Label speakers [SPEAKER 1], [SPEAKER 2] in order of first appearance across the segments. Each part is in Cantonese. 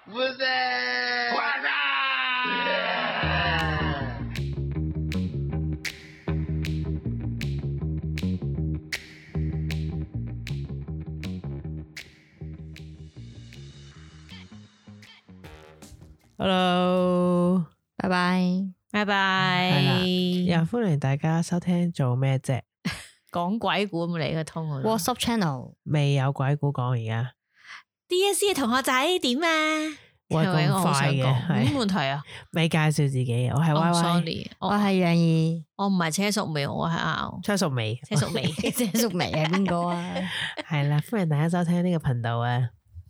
[SPEAKER 1] Hello，
[SPEAKER 2] 拜拜，
[SPEAKER 3] 拜拜，
[SPEAKER 1] 又歡迎大家收聽做咩啫？
[SPEAKER 3] 講鬼故咁嚟嘅通啊
[SPEAKER 2] WhatsApp channel
[SPEAKER 1] 未有鬼故講而家。
[SPEAKER 3] DSE 嘅同學仔點啊？
[SPEAKER 1] 喂，咁快嘅，
[SPEAKER 3] 冇問題啊。
[SPEAKER 1] 未介紹自己，我係 Y
[SPEAKER 3] Y，
[SPEAKER 2] 我係楊怡，
[SPEAKER 3] 我唔係車淑梅，我係阿
[SPEAKER 1] 車淑梅，
[SPEAKER 3] 車淑梅
[SPEAKER 2] 係邊個啊？
[SPEAKER 1] 係啦，歡迎大家收聽呢個頻道啊。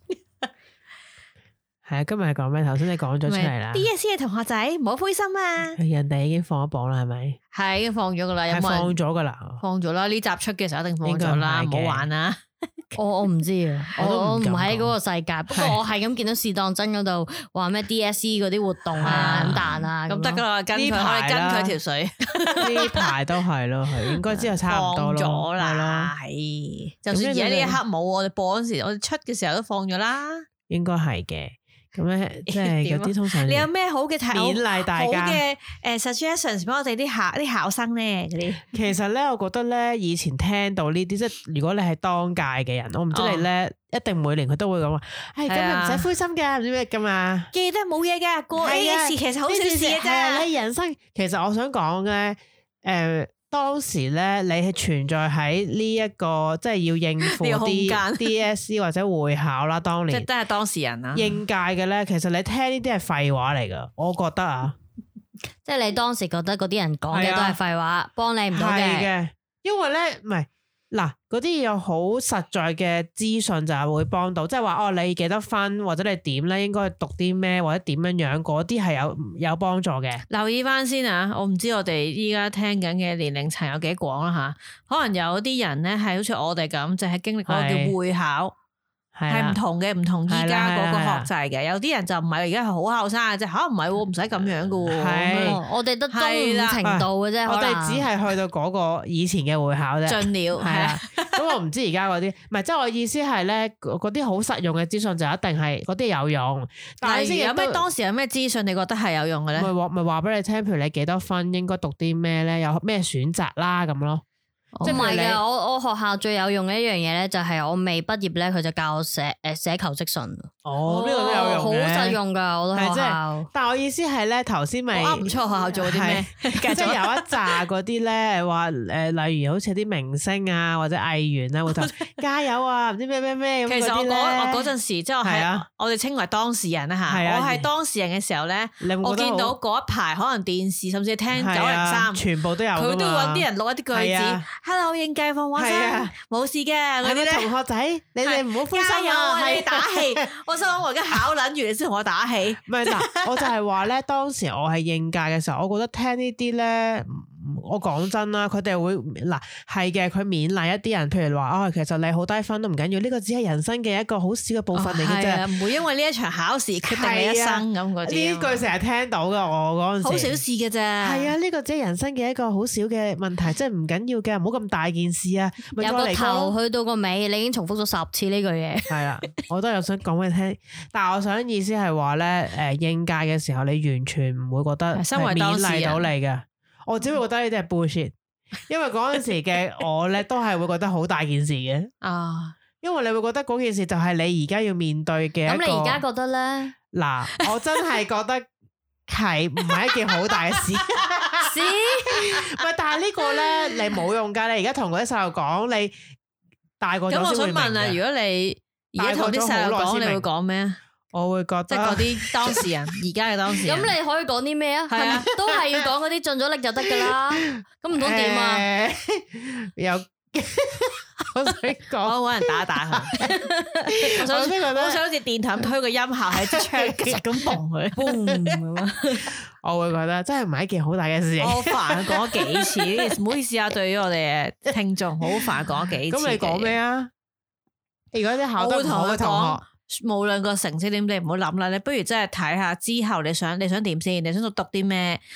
[SPEAKER 1] 係啊，今日係講咩？頭先你講咗出嚟啦。
[SPEAKER 3] DSE 嘅同學仔唔好灰心啊！
[SPEAKER 1] 人哋已經放咗榜啦，係咪？
[SPEAKER 3] 係已經放咗噶啦，有冇人
[SPEAKER 1] 放咗噶啦？
[SPEAKER 3] 放咗啦！呢集出嘅時候一定放咗啦，唔好玩啊！
[SPEAKER 2] 我唔知啊，我唔喺嗰個世界。不過我係咁見到試當真嗰度話咩 DSE 嗰啲活動啊咁彈啊，
[SPEAKER 3] 咁得噶啦，跟佢我哋跟佢條水。
[SPEAKER 1] 呢排都係咯，係應該之後差唔多咯。
[SPEAKER 3] 放咗啦，係就算而家呢一刻冇，我哋播嗰時，我哋出嘅時候都放咗啦。
[SPEAKER 1] 應該係嘅。咁咧，即係有啲通常。
[SPEAKER 3] 你有咩好嘅
[SPEAKER 1] 勉勵大家
[SPEAKER 3] 好嘅suggestions 俾我哋啲考生咧？嗰啲
[SPEAKER 1] 其實咧，我覺得咧，以前聽到呢啲，即係如果你係當屆嘅人，我唔知你咧，一定每年佢都會咁話，今日唔使灰心㗎，唔知咩㗎嘛。記得冇嘢㗎，過 AS 其實好小事嘅啫。你人生其實我想講咧，當時咧，你係存在喺呢一個即係要應付啲 DSE 或者會考啦。當年即係
[SPEAKER 3] 都係當事人啊。
[SPEAKER 1] 應屆嘅咧，其實你聽呢啲係廢話嚟噶，我覺得啊，
[SPEAKER 2] 即係你當時覺得嗰啲人講嘅都係廢話，幫你唔到嘅。
[SPEAKER 1] 因為咧唔係嗱，嗰啲有好實在嘅資訊就係會幫到，即係話你幾多分或者你點咧，應該讀啲咩或者點樣樣，嗰啲係有幫助嘅。留意翻先啊！我唔知我哋依家聽緊嘅年齡層有幾廣啦吓，可能有啲人咧係好似我哋咁，就係經歷嗰個叫會考。係唔同嘅，唔同依家嗰個學制嘅，有啲人就唔係而家係好後生嘅啫，唔係唔使咁樣噶喎。我哋得中五程度嘅啫，我哋只係去到嗰個以前嘅會考啫。盡了係啦，咁我唔知而家嗰啲，唔係即係我意思係咧，嗰啲好實用嘅資訊就一定係嗰啲有用。但係有咩當時有咩資訊你覺得係有用嘅咧？咪話俾你聽，譬如你幾多分應該讀啲咩咧，有咩選擇啦咁咯。即係唔係嘅，我學校最有用嘅一樣嘢咧，就係我未畢業咧，佢就教我寫求職信。哦，呢個都有用，好實用噶，我都學校。但係我意思係咧，頭先咪唔錯，學校做啲咩？即係有一紮嗰啲咧，話例如好似啲明星啊或者藝員啊，會同加油啊，唔知咩咩咁。其實我嗰陣時即係我哋稱為當事人啊吓，我係當事人嘅時候咧，我見到嗰一排可能電視甚至聽903，全部都有，佢都揾啲人錄一啲句子。Hello， 應屆放學生，冇事嘅嗰啲咧，同學仔，你哋唔好灰心啊，係打氣。我心諗我而家考撚完，你先同我打氣。唔係嗱，我就係話咧，當時我係應屆嘅時候，我覺得聽呢啲咧。我講真啦，佢哋會嗱係嘅，佢勉勵一啲人，譬如話其實你好低分都唔緊要，呢個只係人生嘅一個好少嘅部分嚟嘅啫，唔會因為呢一場考試決定你一生咁嗰啲。呢句成日聽到噶，我嗰陣時好小事嘅啫。係啊，呢個只係人生嘅一個好少嘅問題，即係唔緊要嘅，唔好咁大件事啊。由個頭去到個尾，你已經重複咗10次呢句嘢。係啊，我都有想講俾你聽，但係我想意思係話咧，應屆嘅時候你完全唔會覺得係勉勵到你嘅。我只會覺得呢啲係 bullshit，因為嗰陣時嘅我咧都係會覺得好大件事嘅。啊，因為你會覺得嗰件事就係你而家要面對嘅一個。咁你而家覺得咧？嗱，我真係覺得係唔係一件好大嘅事。唔係，但係呢個咧你冇用噶。你而家同嗰啲細路講，你大個咗先會明嘅。咁我想問啊，如果你而家同啲細路講，你會講咩啊？我會覺得即係嗰啲當事人，而家嘅當事人。咁你可以講啲咩啊？係啊，都係要講嗰啲盡咗力就得噶啦。咁唔通點啊？有我想講，我搵人打佢。我想好似電台咁推個音效喺支槍咁嘣佢，嘣咁啊！我會覺得真係唔係一件好大嘅事。我煩講咗幾次，唔好意思啊，對於我哋嘅聽眾好煩講咗幾次。咁你講咩啊？如果啲考得唔好嘅同學。無論個成績點，你唔好諗啦。你不如真係睇下之後你想點先？你想讀啲咩？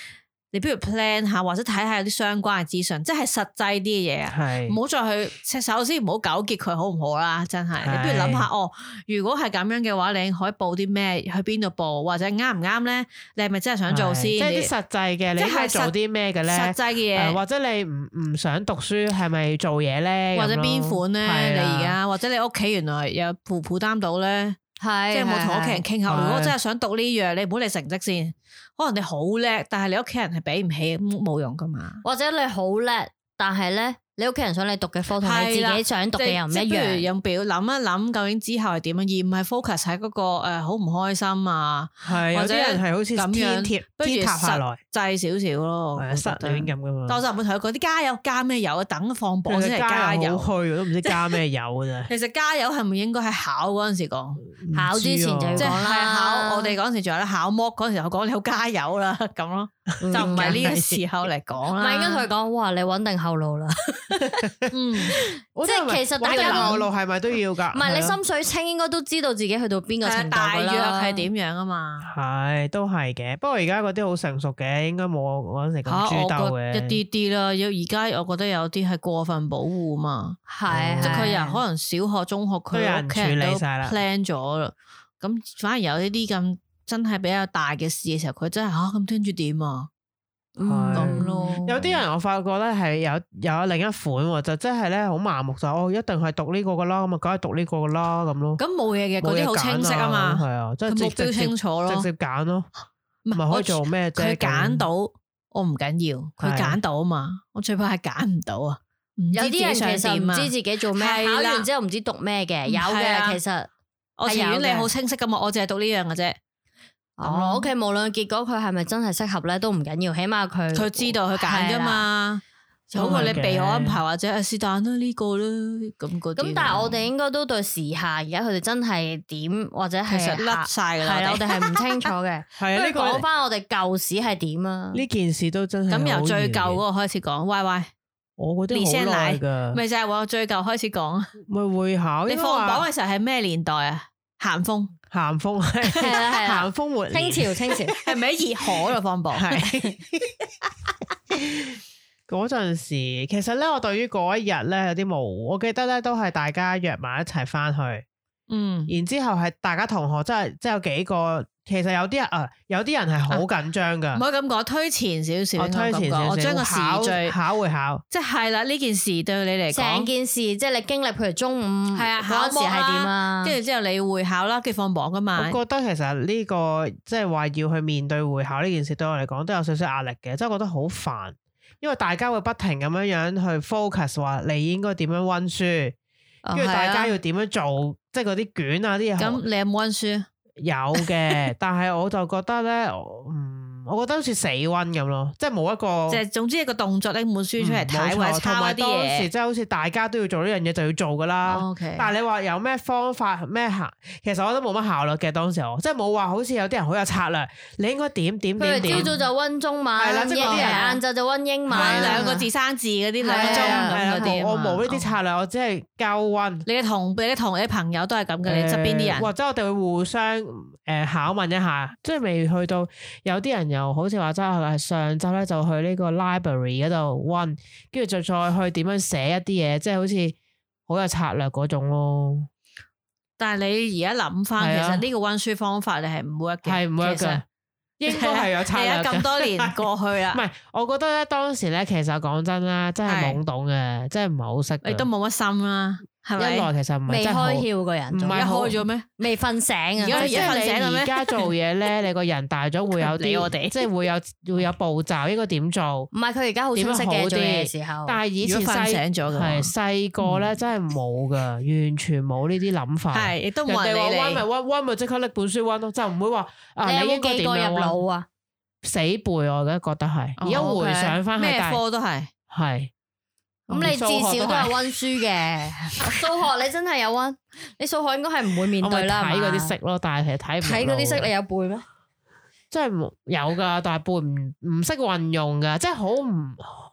[SPEAKER 3] 你不如 plan 下，或者睇下有啲相關嘅資訊，即係實際啲嘅嘢啊，唔好再去，首先唔好糾結佢好唔好啦，真係。你不如諗下，如果係咁樣嘅話，你可以報啲咩？去邊度報？或者啱唔啱咧？你係咪真係想做先？即
[SPEAKER 1] 係啲實際嘅，你係做啲咩嘅咧？
[SPEAKER 3] 實際嘅嘢，
[SPEAKER 1] 或者你唔想讀書，係咪做嘢咧？
[SPEAKER 3] 或者邊款咧？你而家或者你屋企原來有負擔到咧？係，即係冇同屋企人傾下。如果真係想讀呢樣，你唔好理成績先。可能你好叻，但係你屋企人係俾唔起，冇用噶嘛。或者你好叻，但係咧，你屋企人想你讀嘅科同你自己想讀嘅又唔一樣。用表諗一諗，究竟之後係點樣，而唔係 focus 喺嗰個好唔開心啊。係，或者人係好似咁樣，不如實際少少咯。失戀咁噶嘛。但我就唔會同佢講啲加油，加咩油啊？等放榜先嚟加油。好虛，都唔知加咩油啊！其實加油係咪應該喺考嗰陣時講？考之前就要講啦。考我哋嗰陣時仲有得考 mock 嗰陣時，我講你好加油啦咁咯，就唔係呢個時候嚟講啦。唔係應該同佢講，哇！你穩定後路啦。即係其實大家後路係咪都要噶？唔係你心水清，應該都知道自己去到邊個程度噶啦。大約係點樣啊嘛？係都係嘅，不過而家嗰啲好成熟嘅，應該冇嗰陣時咁豬兜嘅。一啲啲啦，而家我覺得有啲係過分保護嘛。係，即係佢又可能小學、中學佢屋企人都 plan 咗啦。咁反而有呢啲咁真係比較大嘅事嘅時候，佢真係咁跟住點啊？咁咯。有啲人我發覺咧係有另一款，就真係咧好麻木，就一定係讀呢個噶啦，咁啊梗係讀呢個噶啦咁咯。咁冇嘢嘅，嗰啲好清晰啊嘛。係啊，即係目標清楚咯，直接揀咯。唔係可以做咩啫？佢揀到我唔緊要，佢揀到啊嘛。我最怕係揀唔到啊。有啲人其實唔知自己做咩，考完之後唔知讀咩嘅，有嘅其實。我前院你好清晰噶嘛，我淨係讀呢樣嘅啫。我屋企無論結果佢係咪真係適合咧，都唔緊要，起碼佢知道佢揀噶嘛。好過你被我安排或者是但啦呢個啦咁嗰啲。咁但係我哋應該都對時下而家佢哋真係點或者係甩晒噶啦。係啦，我哋係唔清楚嘅。係啊，呢個講翻我哋舊時係點啊？呢件事都真係咁由最舊嗰個開始講。喂，我覺得好耐噶，咪就係我最舊開始講。咪會考？你放榜嘅時候係咩年代啊？咸豐係啦，咸豐末年，清朝係咪喺熱河度放榜？係嗰陣時，其實咧，我對於嗰一日咧有啲模糊。我記得咧都係大家約埋一齊翻去，然之後係大家同學，即係有幾個。其實有啲人係好緊張噶，唔可以咁講，推前少少，我將個時序考會考，即係啦呢件事對你嚟講，成件事即係你經歷，譬如中午係啊考試係點啊，跟住之後你會考啦，跟住放榜噶嘛。我覺得其實呢個即係話要去面對會考呢件事，對我嚟講都有少少壓力嘅，即係覺得好煩，因為大家會不停咁樣去 focus 話你應該點樣溫書，跟住大家要點樣做，即係嗰啲卷啊啲嘢。咁你有冇溫書？有嘅，但係我就覺得咧，我覺得好似死溫咁咯，即係冇一個，即係總之一個動作拎本書出嚟睇，或者抄一啲嘢。同埋當時即係好似大家都要做呢樣嘢就要做噶啦。Okay. 但係你話有咩方法咩行？其實我都冇乜效率嘅當時我，即係冇話好似有啲人好有策略，你應該點。朝早就溫中文，係啦，即係啲人晏晝就溫英文，兩個字生字嗰啲兩個鐘咁嗰啲。我冇呢啲策略，我只係交溫。你嘅同你朋友都係咁嘅，你側邊啲人，或者我哋會互相考問一下，即係未去到有啲人又好似話齋係上晝咧就去呢個 library 嗰度溫，跟住就再去點樣寫一啲嘢，即係好似好有策略嗰種咯。但係你而家諗翻，其實呢個溫書方法你係唔 work 嘅，係唔 work 嘅，應該係有策略嘅。咁多年過去啦，唔係，我覺得咧當時咧其實講真啦，真係懵懂嘅，真係唔係好識，你都冇乜心啦。一來其實唔係真係未開竅個人，唔係開咗咩？未瞓醒啊！而家瞓醒啦咩？而家做嘢咧，你個人大咗會有啲，即係會有步驟，應該點做？唔係佢而家好清晰嘅做嘢嘅時候，但係以前瞓醒咗嘅係細個咧，真係冇噶，完全冇呢啲諗法。係亦都冇人哋話溫咪溫咪即刻拎本書溫咯，就唔會話你應該點樣溫啊？死背我而家覺得係，而家回想翻咩科都係係。咁你至少都係溫書嘅，數學你真係有溫，你數學應該係唔會面對啦。睇嗰啲識咯，但係其實睇唔睇嗰啲識你有背咩？真係有噶，但係背唔識運用噶，即係好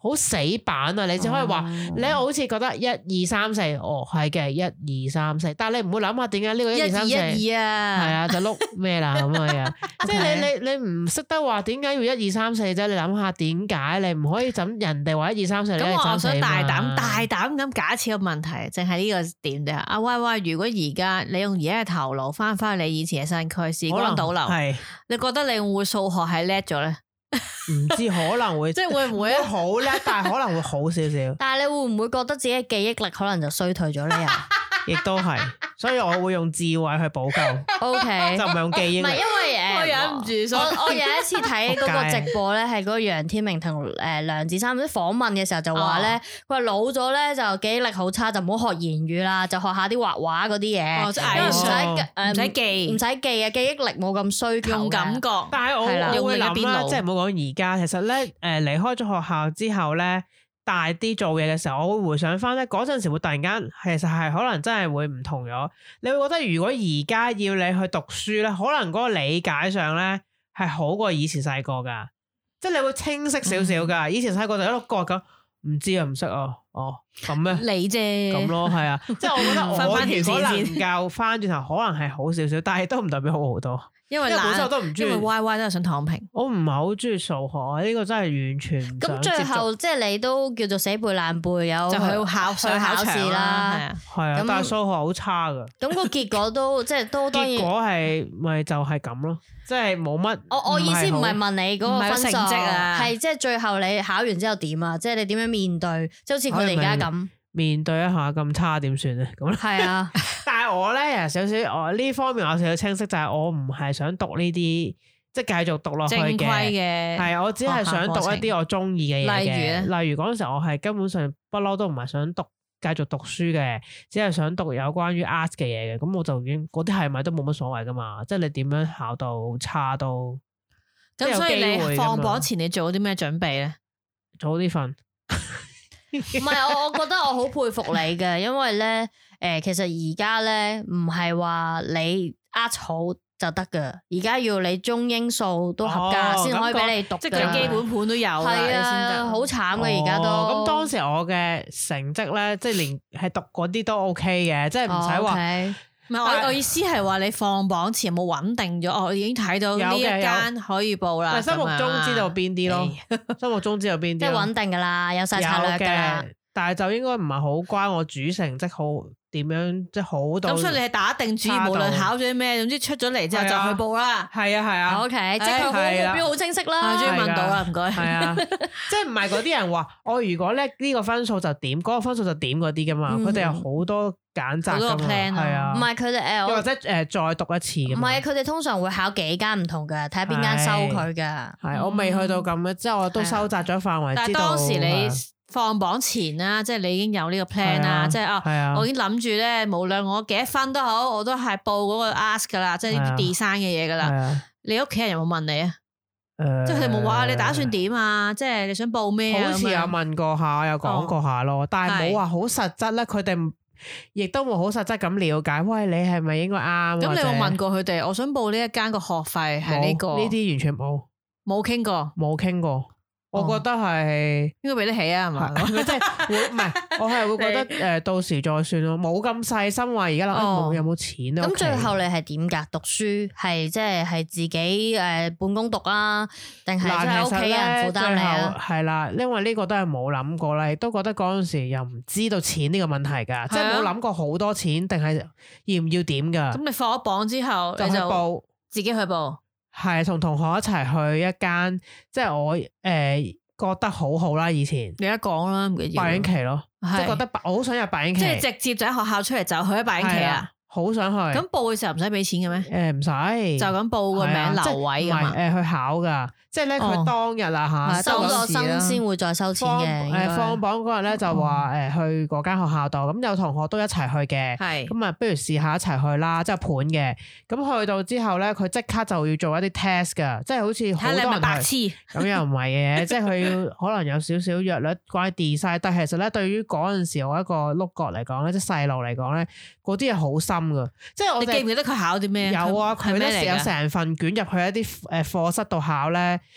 [SPEAKER 1] 好死板啊！你只可以話你好似覺得1、2、3、4，哦係嘅1、2、3、4，但係你唔會諗下點解呢個1、2、3、4係啊就碌咩啦咁啊！即係你唔識得話點解要1、2、3、4啫？你諗下點解你唔可以咁人哋話1、2、3、4？
[SPEAKER 4] 咁我想大膽咁假設個問題，淨係呢個點啫。阿 Y Y，如果而家你用而家嘅頭腦翻去你以前嘅身軀時光倒流，你覺得你會數學係叻咗咧？
[SPEAKER 1] 唔知可能會，
[SPEAKER 4] 即係會唔會
[SPEAKER 1] 好叻，但係可能會好少少。
[SPEAKER 2] 但係你會唔會覺得自己嘅記憶力可能就衰退咗咧？
[SPEAKER 1] 亦都係，所以我會用智慧去補救。
[SPEAKER 2] OK，
[SPEAKER 1] 就唔係用記憶力。
[SPEAKER 2] 唔係因為
[SPEAKER 4] 我忍唔住，
[SPEAKER 2] 我有一次睇嗰個直播咧，係嗰個楊天明同梁子珊啲訪問嘅時候就話咧，佢話老咗咧就記憶力好差，就唔好學言語啦，就學下啲畫畫嗰啲嘢，因為唔使記啊，記憶力冇咁需求，
[SPEAKER 4] 用感覺。
[SPEAKER 1] 但係我會諗啦，即係唔好講而家，其實咧離開咗學校之後咧。大啲做嘢嘅時候，我會回想翻咧嗰陣時，會突然間其實係可能真係會唔同咗。你會覺得如果而家要你去讀書咧，可能嗰個理解上咧係好過以前細個噶，即係你會清晰少少噶。以前細個就一碌角咁，唔知啊，唔識啊，哦咁咩？
[SPEAKER 4] 你啫
[SPEAKER 1] 咁咯，係啊，即係我覺得我如果能夠翻轉頭，可能係好少少，但係都唔代表好好多。
[SPEAKER 4] 因為
[SPEAKER 1] 本身我都唔中意，
[SPEAKER 4] 因為 Y Y 都係想躺平。
[SPEAKER 1] 我唔係好中意數學，呢個真係完全唔想接觸。
[SPEAKER 2] 咁最後即係你都叫做死背爛背，有
[SPEAKER 4] 就去考試啦，
[SPEAKER 1] 係啊，但係數學好差噶。
[SPEAKER 2] 咁個結果都即係都當然。
[SPEAKER 1] 結果係咪就係咁咯？即係冇乜。
[SPEAKER 2] 我意思唔係問你嗰個分數
[SPEAKER 4] 成績啊，
[SPEAKER 2] 係即係最後你考完之後點啊？即係你點樣面對？即係好似佢哋而家咁。
[SPEAKER 1] 面對一下咁差點算咧？咁
[SPEAKER 2] 係啊，
[SPEAKER 1] 但係我咧有少少，我呢方面我有少少清晰，就係我唔係想讀呢啲，即係繼續讀落去嘅。正規嘅係，我只係想讀一啲我中意嘅嘢嘅。例如嗰陣時我係根本上不嬲都唔係想繼續讀書嘅，只係想讀有關於 art 嘅嘢嘅。咁我就已經嗰啲係咪都冇乜所謂噶嘛？即係你點樣考到差都
[SPEAKER 4] 咁，所以你放榜前你做咗啲咩準備咧？
[SPEAKER 1] 早啲瞓。
[SPEAKER 2] 唔係，我覺得我好佩服你嘅，因為咧，其實而家咧唔係話你好就得噶，而家要你中英數都合格先可以俾你讀，
[SPEAKER 4] 即係佢基本盤都有，
[SPEAKER 2] 係啊，好慘嘅而家都。
[SPEAKER 1] 咁當時我嘅成績咧，即係連係讀嗰啲都 OK 嘅，即係唔使話。
[SPEAKER 4] 唔係我意思係話你放榜前有冇穩定咗？我已經睇到呢一間可以報啦。
[SPEAKER 1] 心目中知道邊啲咯？心目中知道邊啲？
[SPEAKER 2] 即係穩定噶啦，有晒策略嘅。
[SPEAKER 1] 但係就應該唔係好關我主成績好點樣，即係好到。
[SPEAKER 4] 咁所以你係打定主意，無論考咗啲咩，總之出咗嚟之後就去報啦。
[SPEAKER 1] 係啊係啊。
[SPEAKER 2] OK，即係佢目標好清晰啦。
[SPEAKER 4] 終於問到啦，唔該。
[SPEAKER 1] 係啊，即係唔係嗰啲人話我如果咧呢個分數就點，嗰個分數就點嗰啲噶嘛？佢哋有好多揀擇噶嘛。係啊。
[SPEAKER 2] 唔係佢哋
[SPEAKER 1] 或者再讀一次。
[SPEAKER 2] 唔係佢哋通常會考幾間唔同嘅，睇下邊間收佢噶。
[SPEAKER 1] 係我未去到咁嘅，即係我都收窄咗範圍。
[SPEAKER 4] 但係當時你放榜前啦，即係你已經有呢個 plan 啦，即係我已經諗住咧，無論我幾多分都好，我都係報嗰個 ask 噶啦，即係呢啲 design 嘅嘢噶啦。你屋企人有冇問你啊？即係佢哋冇話你打算點啊？即係你想報咩啊？
[SPEAKER 1] 好似有問過下，有講過下咯，但係冇話好實質咧。佢哋亦都冇好實質咁了解。喂，你係咪應該啱？
[SPEAKER 4] 咁你有冇問過佢哋？我想報呢一間個學費係呢個？
[SPEAKER 1] 呢啲完全冇
[SPEAKER 4] 傾過，
[SPEAKER 1] 冇傾過。我覺得係
[SPEAKER 4] 應該俾得起啊，係嘛？
[SPEAKER 1] 即係會唔係？我係會覺得到時再算咯，冇咁細心話而家諗有冇錢啊？
[SPEAKER 2] 咁最後你係點㗎？讀書係即係自己半工讀啊，定係即係屋企人負擔你啊？
[SPEAKER 1] 係啦，因為呢個都係冇諗過啦，亦都覺得嗰陣時又唔知道錢呢個問題㗎，即係冇諗過好多錢定係要唔要點㗎？
[SPEAKER 4] 咁你放咗榜之後
[SPEAKER 1] 就去報，
[SPEAKER 4] 自己去報。
[SPEAKER 1] 係同同學一齊去一間，即係我覺得好好啦。以前
[SPEAKER 4] 你一講啦，唔記得。
[SPEAKER 1] 白影期咯，即係覺得我好想入白影期，
[SPEAKER 4] 即係直接就喺學校出嚟就去咗白影期啊！
[SPEAKER 1] 好想去。
[SPEAKER 4] 咁報嘅時候唔使俾錢嘅咩？
[SPEAKER 1] 唔使，
[SPEAKER 4] 就咁報個名留位噶嘛。
[SPEAKER 1] 去考噶，即係咧佢當日啊
[SPEAKER 2] 收咗生先會再收錢嘅。
[SPEAKER 1] 放榜嗰日咧就話去嗰間學校度，咁有同學都一齊去嘅。係咁啊，不如試下一齊去啦，即係盤嘅。咁去到之後咧，佢即刻就要做一啲 test 噶，即係好似好多人
[SPEAKER 4] 睇你係咪白痴
[SPEAKER 1] 咁又唔係嘅，即係佢要可能有少少約略關於 design，但係其實咧對於嗰陣時我一個碌角嚟講咧，即係細路嚟講咧，嗰啲嘢好深噶，即係我
[SPEAKER 4] 你記唔記得佢考啲咩？
[SPEAKER 1] 有啊，佢咧有成份卷入去一啲課室度考咧。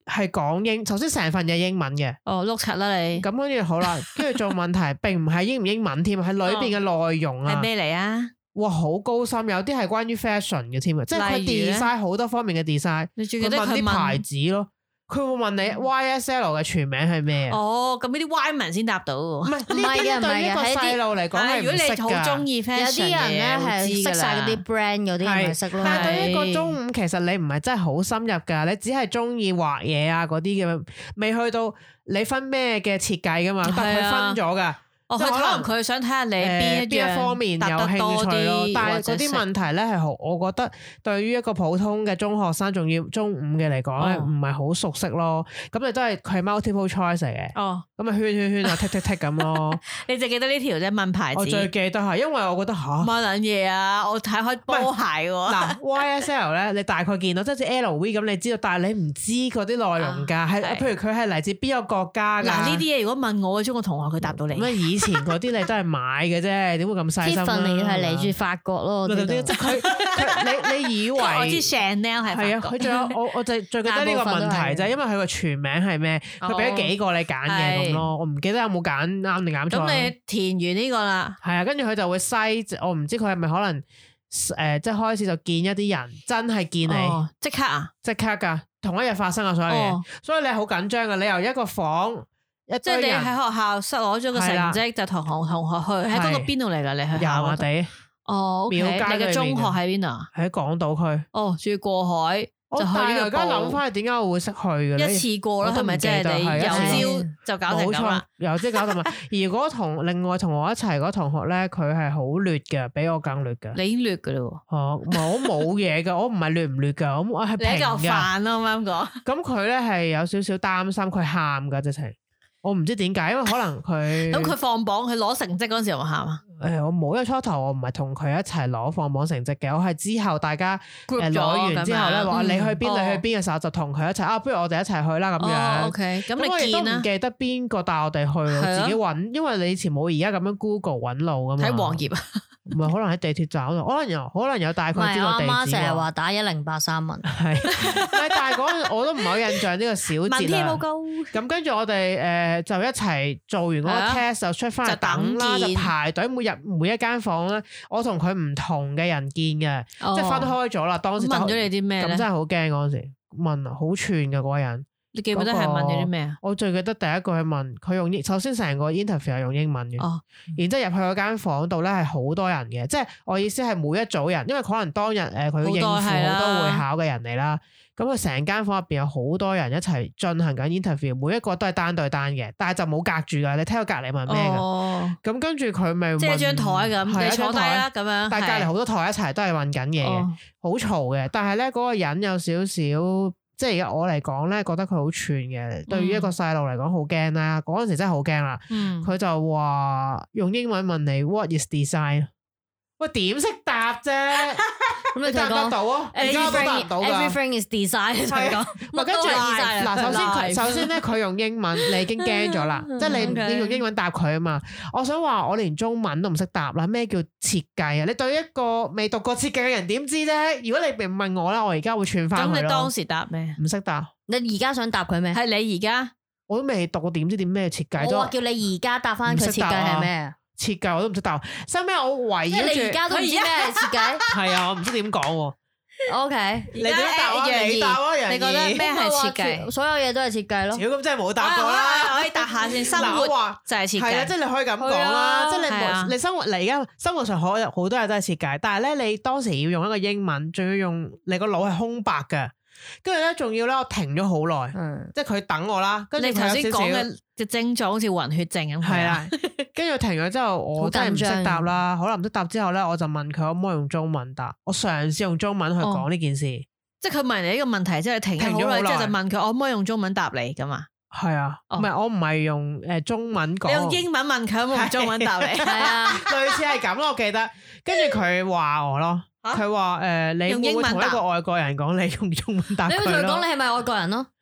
[SPEAKER 3] 係講英，首先成份嘢英文嘅。
[SPEAKER 4] 哦，碌柒啦你。
[SPEAKER 3] 咁跟住好啦，跟住仲問題並唔係英唔英文添，係裏邊嘅內容啊。
[SPEAKER 4] 係咩嚟啊？
[SPEAKER 3] 哇，好高深，有啲係關於 fashion 嘅添啊，即係佢 design 好多方面嘅 design。
[SPEAKER 4] 你最記得
[SPEAKER 3] 佢問啲牌子咯。佢會問你 YSL 嘅全名係咩啊？
[SPEAKER 4] 哦，咁呢啲 Y 文先答到。唔係
[SPEAKER 3] 呢啲對一個細路嚟講係唔識㗎。如果你好
[SPEAKER 4] 中意 fashion 嘅，有啲人咧係識晒嗰啲 brand 嗰啲咪識咯。
[SPEAKER 3] 但係對一個中五，其實你唔係真係好深入㗎，你只係中意畫嘢啊嗰啲咁，未去到你分咩嘅設計㗎嘛？但係佢分咗㗎。
[SPEAKER 4] 可能佢想睇下你邊
[SPEAKER 3] 一方面有興趣咯，但係嗰啲問題咧係好，我覺得對於一個普通嘅中學生，仲要中五嘅嚟講咧，唔係好熟悉咯。咁你都係佢係 multiple choice 嚟嘅。哦，咁啊圈啊剔咁咯。你就記得呢條啫，問牌子。我最記得係，因為我覺得嚇乜撚嘢啊！我睇開波鞋喎。嗱 YSL 咧，你大概見到即係似 LV 咁，你知道，但係你唔知嗰啲內容㗎。係譬如佢係嚟自邊個國家㗎？嗱呢啲嘢如果問我嘅中國同學，佢答到你。咁前嗰啲你都係買嘅啫，點會咁細心啊？Tiffany係嚟住法國咯，即係佢你以為我知 Chanel 係啊？佢仲有我就最記得呢個問題就係因為佢個全名係咩？佢俾咗幾個你揀嘅咁咯，我唔記得有冇揀啱定揀錯。咁你填完呢個啦，係啊，跟住佢就會篩，我唔知佢係咪可能即係開始就見一啲人真係見你即刻啊，即刻㗎，同一日發生啊所有嘢，所以你係好緊張㗎，你由一個房。即係你喺學校室攞咗個成績就同同學去，喺嗰個邊度嚟㗎？你去油麻地哦，廟街你嘅中學喺邊度啊？喺港島區。哦，仲要過海就去呢個。但係而家諗翻係點解我會識去嘅咧？一次過咯，係咪即係你有朝就搞成咁啦？有朝搞成啊！如果同另外同我一齊嗰同學咧，佢係好劣嘅，比我更劣嘅。你已經劣㗎啦喎！哦，我冇嘢㗎，我唔係劣唔劣㗎，我係平㗎。你嚿飯咯，啱啱講。咁佢咧係有少少擔心，佢喊㗎直情。我唔知點解，因為可能佢咁佢放榜，佢攞成績嗰陣時有冇喊啊？我冇，因為初頭我唔係同佢一齊攞放榜成績嘅，我係之後大家攞完之後咧話你去邊你去邊嘅時候就同佢一齊不如我哋一齊去啦咁樣。OK，咁我亦都唔記得邊個帶我哋去，自己揾，因為你以前冇而家咁樣 Google 揾路噶嘛。喺黃頁啊。唔係，可能喺地鐵站度，可能有大概知道地址。阿媽成日話打1083問，係，但係嗰陣我都唔係好印象呢個小節啦。咁跟住我哋就一齊做完嗰個 test 就出翻嚟等啦，就排隊每一間房咧，我同佢唔同嘅人見嘅，即係分開咗啦。當時問咗你啲咩咧？咁真係好驚嗰陣時，問啊，好串嘅嗰個人。你記唔記得係問咗啲咩啊？我最記得第一個係問佢用首先成個 interview 係用英文嘅，然之後入去嗰間房度咧係好多人嘅，即係我意思係每一組人，因為可能當日佢應付好多會考嘅人嚟啦，咁佢成間房入邊有好多人一齊進行緊 interview， 每一個都係單對單嘅，但係就冇隔住噶，你聽到隔離問咩噶？咁跟住佢咪即係張台咁，你坐低啦咁樣，但係隔離好多台一齊都係問緊嘢嘅，好嘈嘅，但係咧嗰個人有少少。即係而家我嚟講咧，覺得佢好串嘅。對於一個細路嚟講，好驚啦。嗰陣時真係好驚啦。佢就話用英文問你 What is design？ 喂，點識答啫？咁你答得到啊？而家都答唔到㗎。Everything is design。係啊。跟住嗱，首先咧，佢用英文，你已經驚咗啦。即係你用英文答佢啊嘛。我想話我連中文都唔識答啦。咩叫設計啊？你對一個未讀過設計嘅人點知啫？如果你唔問我啦，我而家會串翻佢咯。咁你當時答咩？唔識答。你而家想答佢咩？係你而家？我都未讀過，點知點咩設計？我話叫你而家答翻佢設計係咩？設計我都唔識答，收尾我圍繞住，你而家都唔知咩係設計？係啊，我唔知點講喎。O K，你點答啊？你答啊？你覺得咩係設計？所有嘢都係設計咯。屌，咁真係冇答過啦。可以答下先。生活就係設計。係啊，即係你可以咁講啦。即係你生活嚟，而家生活上好多嘢都係設計，但係咧你當時要用一個英文，仲要用你個腦係空白嘅。跟住咧，仲要咧，我停咗好耐，即係佢等我啦。跟住你頭先講嘅隻症狀好似暈血症咁，係啦。跟住停咗之後，我真係唔識答啦。好啦，唔識答之後咧，我就問佢可唔可以用中文答。我嘗試用中文去講呢件事，即係佢問你呢個問題，即係停咗好耐，之後就問佢我可唔可以用中文答你咁啊？係啊，唔係我唔係用中文講，你用英文問佢可唔可以用中文答你？係啊，類似係咁咯，我記得。跟住佢話我咯。佢話你會同一個外國人講，你用中文答佢咯。你會同佢講你係咪外國人咯？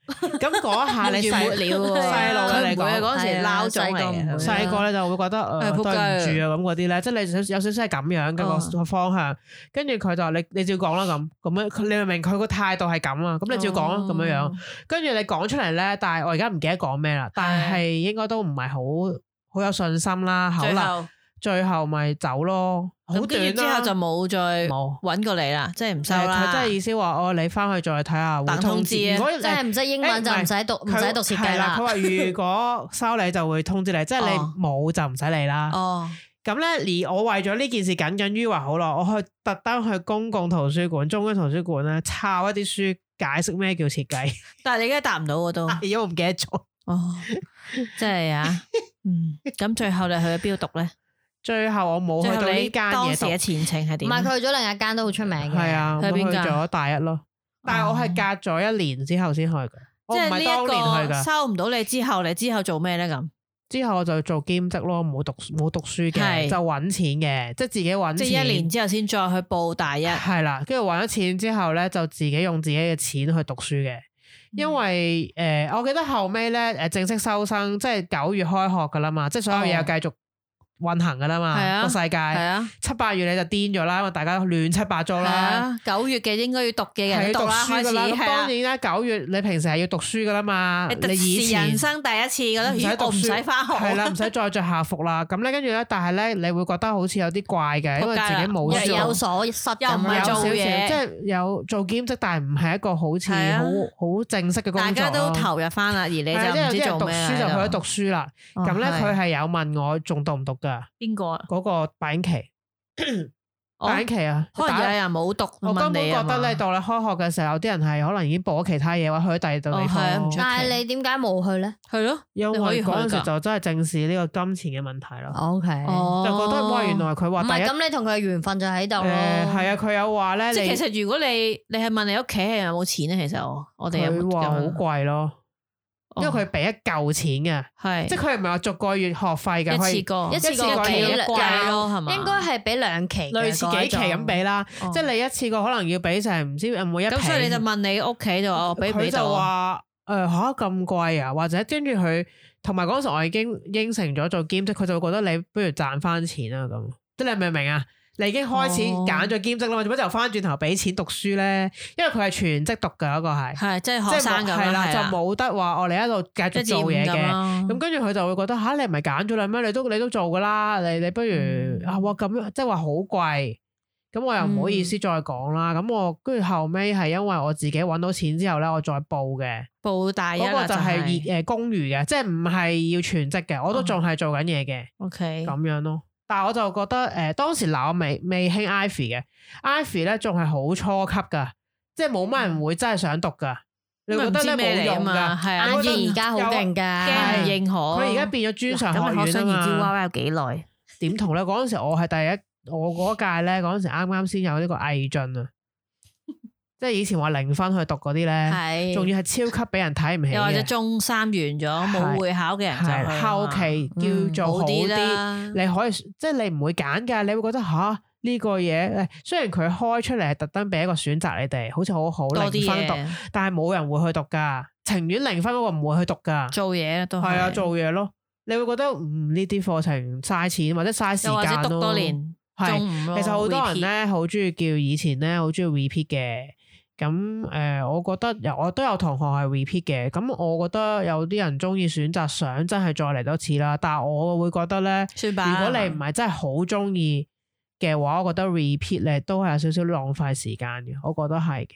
[SPEAKER 3] 咁嗰一下你細路嚟講
[SPEAKER 4] 嗰陣時鬧咗嚟，
[SPEAKER 3] 細個咧就會覺得對唔住啊咁嗰啲咧，即係你有少少係咁樣嘅個方向，跟住佢就話你照講啦咁樣，你明唔明佢個態度係咁啊？咁你照講啦咁樣樣，跟住你講出嚟咧，但係我而家唔記得講咩啦，但係應該都唔係好有信心啦，口啦。最後咪走咯，好短啦。之後就冇再搵過你啦，即係唔收啦。佢真係意思話你翻去再睇下，等通知。如果真係唔識英文就唔使讀設計啦。佢話如果收你就會通知你，即係你冇就唔使理啦。咁咧，而我為咗呢件事耿耿於懷好耐，我去特登去公共圖書館、中央圖書館咧抄一啲書解釋咩叫設計。但係你而家答唔到我都，因為我唔記得咗。真係啊，咁最後你去咗邊度讀咧？最後我冇去到呢間嘢讀。當時嘅前程係點？唔係佢去咗另一間都好出名嘅。係啊，去邊間？去咗大一咯。但係我係隔咗1年之後先去嘅。即係呢一個收唔到你之後，你之後做咩咧咁？之後我就做兼職咯，冇讀書嘅，就搵錢嘅，即係自己搵錢。即係1年之後先再去報大一。係啦，跟住搵咗錢之後咧，就自己用自己嘅錢去讀書嘅。因為我記得後尾咧正式收生，即係9月開學噶啦嘛，即係所有嘢繼續運行噶啦嘛，個世界7、8月你就癲咗啦，因為大家亂七八糟啦。9月嘅應該要讀嘅人讀啦，開始。咁當然啦，9月你平時係要讀書噶啦嘛，你以前人生第一次覺得唔使讀書，唔使翻學，係啦，唔使再着校服啦。咁咧跟住咧，但係咧你會覺得好似有啲怪嘅，因為自己冇做，有所失，又唔係做嘢，即係有做兼職，但係唔係一個好似好正式嘅工作。大家都投入翻啦，而你就唔知做咩。讀書就去咗讀書啦。咁咧佢係有問我仲讀唔讀噶？邊個啊？嗰個白英奇，白英奇啊！可能有人冇讀，我根本覺得咧，到你開學嘅時候，有啲人係可能已經報咗其他嘢，或者去咗第二度地方。但係你點解冇去咧？係咯，因為嗰陣時就真係正視呢個金錢嘅問題咯。OK，就覺得哇，原來佢話唔係咁，你同佢嘅緣分就喺度咯。係啊，佢有話咧，即係其實如果你係問你屋企係有冇錢咧，其實我哋佢話好貴咯。因為佢俾一嚿錢嘅，係即係佢唔係話逐個月學費嘅，一次過貴咯，係嘛？應該係俾2期，類似幾期咁俾啦。即係你一次過可能要俾成唔知每一皮。咁所以你就問你屋企就話俾唔俾到？佢就話吓咁貴啊，或者跟住佢同埋嗰陣時我已經應承咗做兼職，佢就會覺得你不如賺翻錢啊咁。即係你明唔明啊？你已經開始揀咗兼職啦嘛，做乜就翻轉頭俾錢讀書咧？因為佢係全職讀嘅嗰個係即係學生咁，係啦，就冇得話你喺度繼續做嘢嘅。咁跟住佢就會覺得吓，你唔係揀咗啦咩？你都做噶啦，你不如哇咁樣，即係話好貴。咁我又唔好意思再講啦。咁我跟住後尾係因為我自己揾到錢之後咧，我再報嘅，報大一嗰個就係公餘嘅，即係唔係要全職嘅，我都仲係做緊嘢嘅。OK，咁樣咯。但係我就覺得當時我未興 Ivy 嘅 Ivy 咧，仲係好初級噶，即係冇乜人會真係想讀噶。你覺得咧冇用噶？係啊，而家好勁噶，驚唔認可。佢而家變咗專上學院啊嘛。可想而知 YY 有幾耐？點同咧？嗰陣時我係我嗰屆咧，嗰陣時啱啱先有呢個毅進啊。即係以前話0分去讀嗰啲咧，仲要係超級俾人睇唔起嘅。又或者中3完咗冇會考嘅人就後期叫做好啲，你可以即係你唔會揀㗎，你會覺得吓呢個嘢，雖然佢開出嚟係特登俾一個選擇你哋，好似好好0分讀，但係冇人會去讀㗎，情願0分嗰個唔會去讀㗎。做嘢都係啊，做嘢咯，你會覺得呢啲課程嘥錢或者嘥時間咯。或者讀多年，係其實好多人咧好中意叫以前咧好中意 repeat 嘅。咁我覺得我都有同學係 repeat 嘅，咁我覺得有啲人中意選擇想真係再嚟多次啦，但係我會覺得咧，如果你唔係真係好中意嘅話，我覺得 repeat 咧都係有少少浪費時間嘅，我覺得係嘅。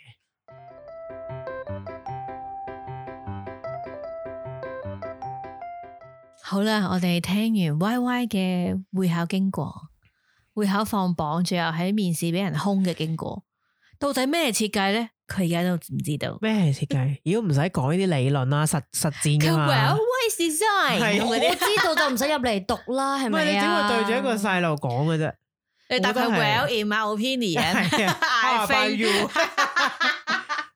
[SPEAKER 3] 好啦，我哋聽完 YY 嘅會考經過，會考放榜，最後喺面試俾人兇嘅經過，到底咩設計咧？佢而家都唔知道咩係設計，如果唔使講呢啲理論啦，實戰噶嘛。Well, Wise design， 我知道就唔使入嚟讀啦，係咪啊？你只會對住一個細路講嘅啫。你答佢 Well in my opinion，I fail you。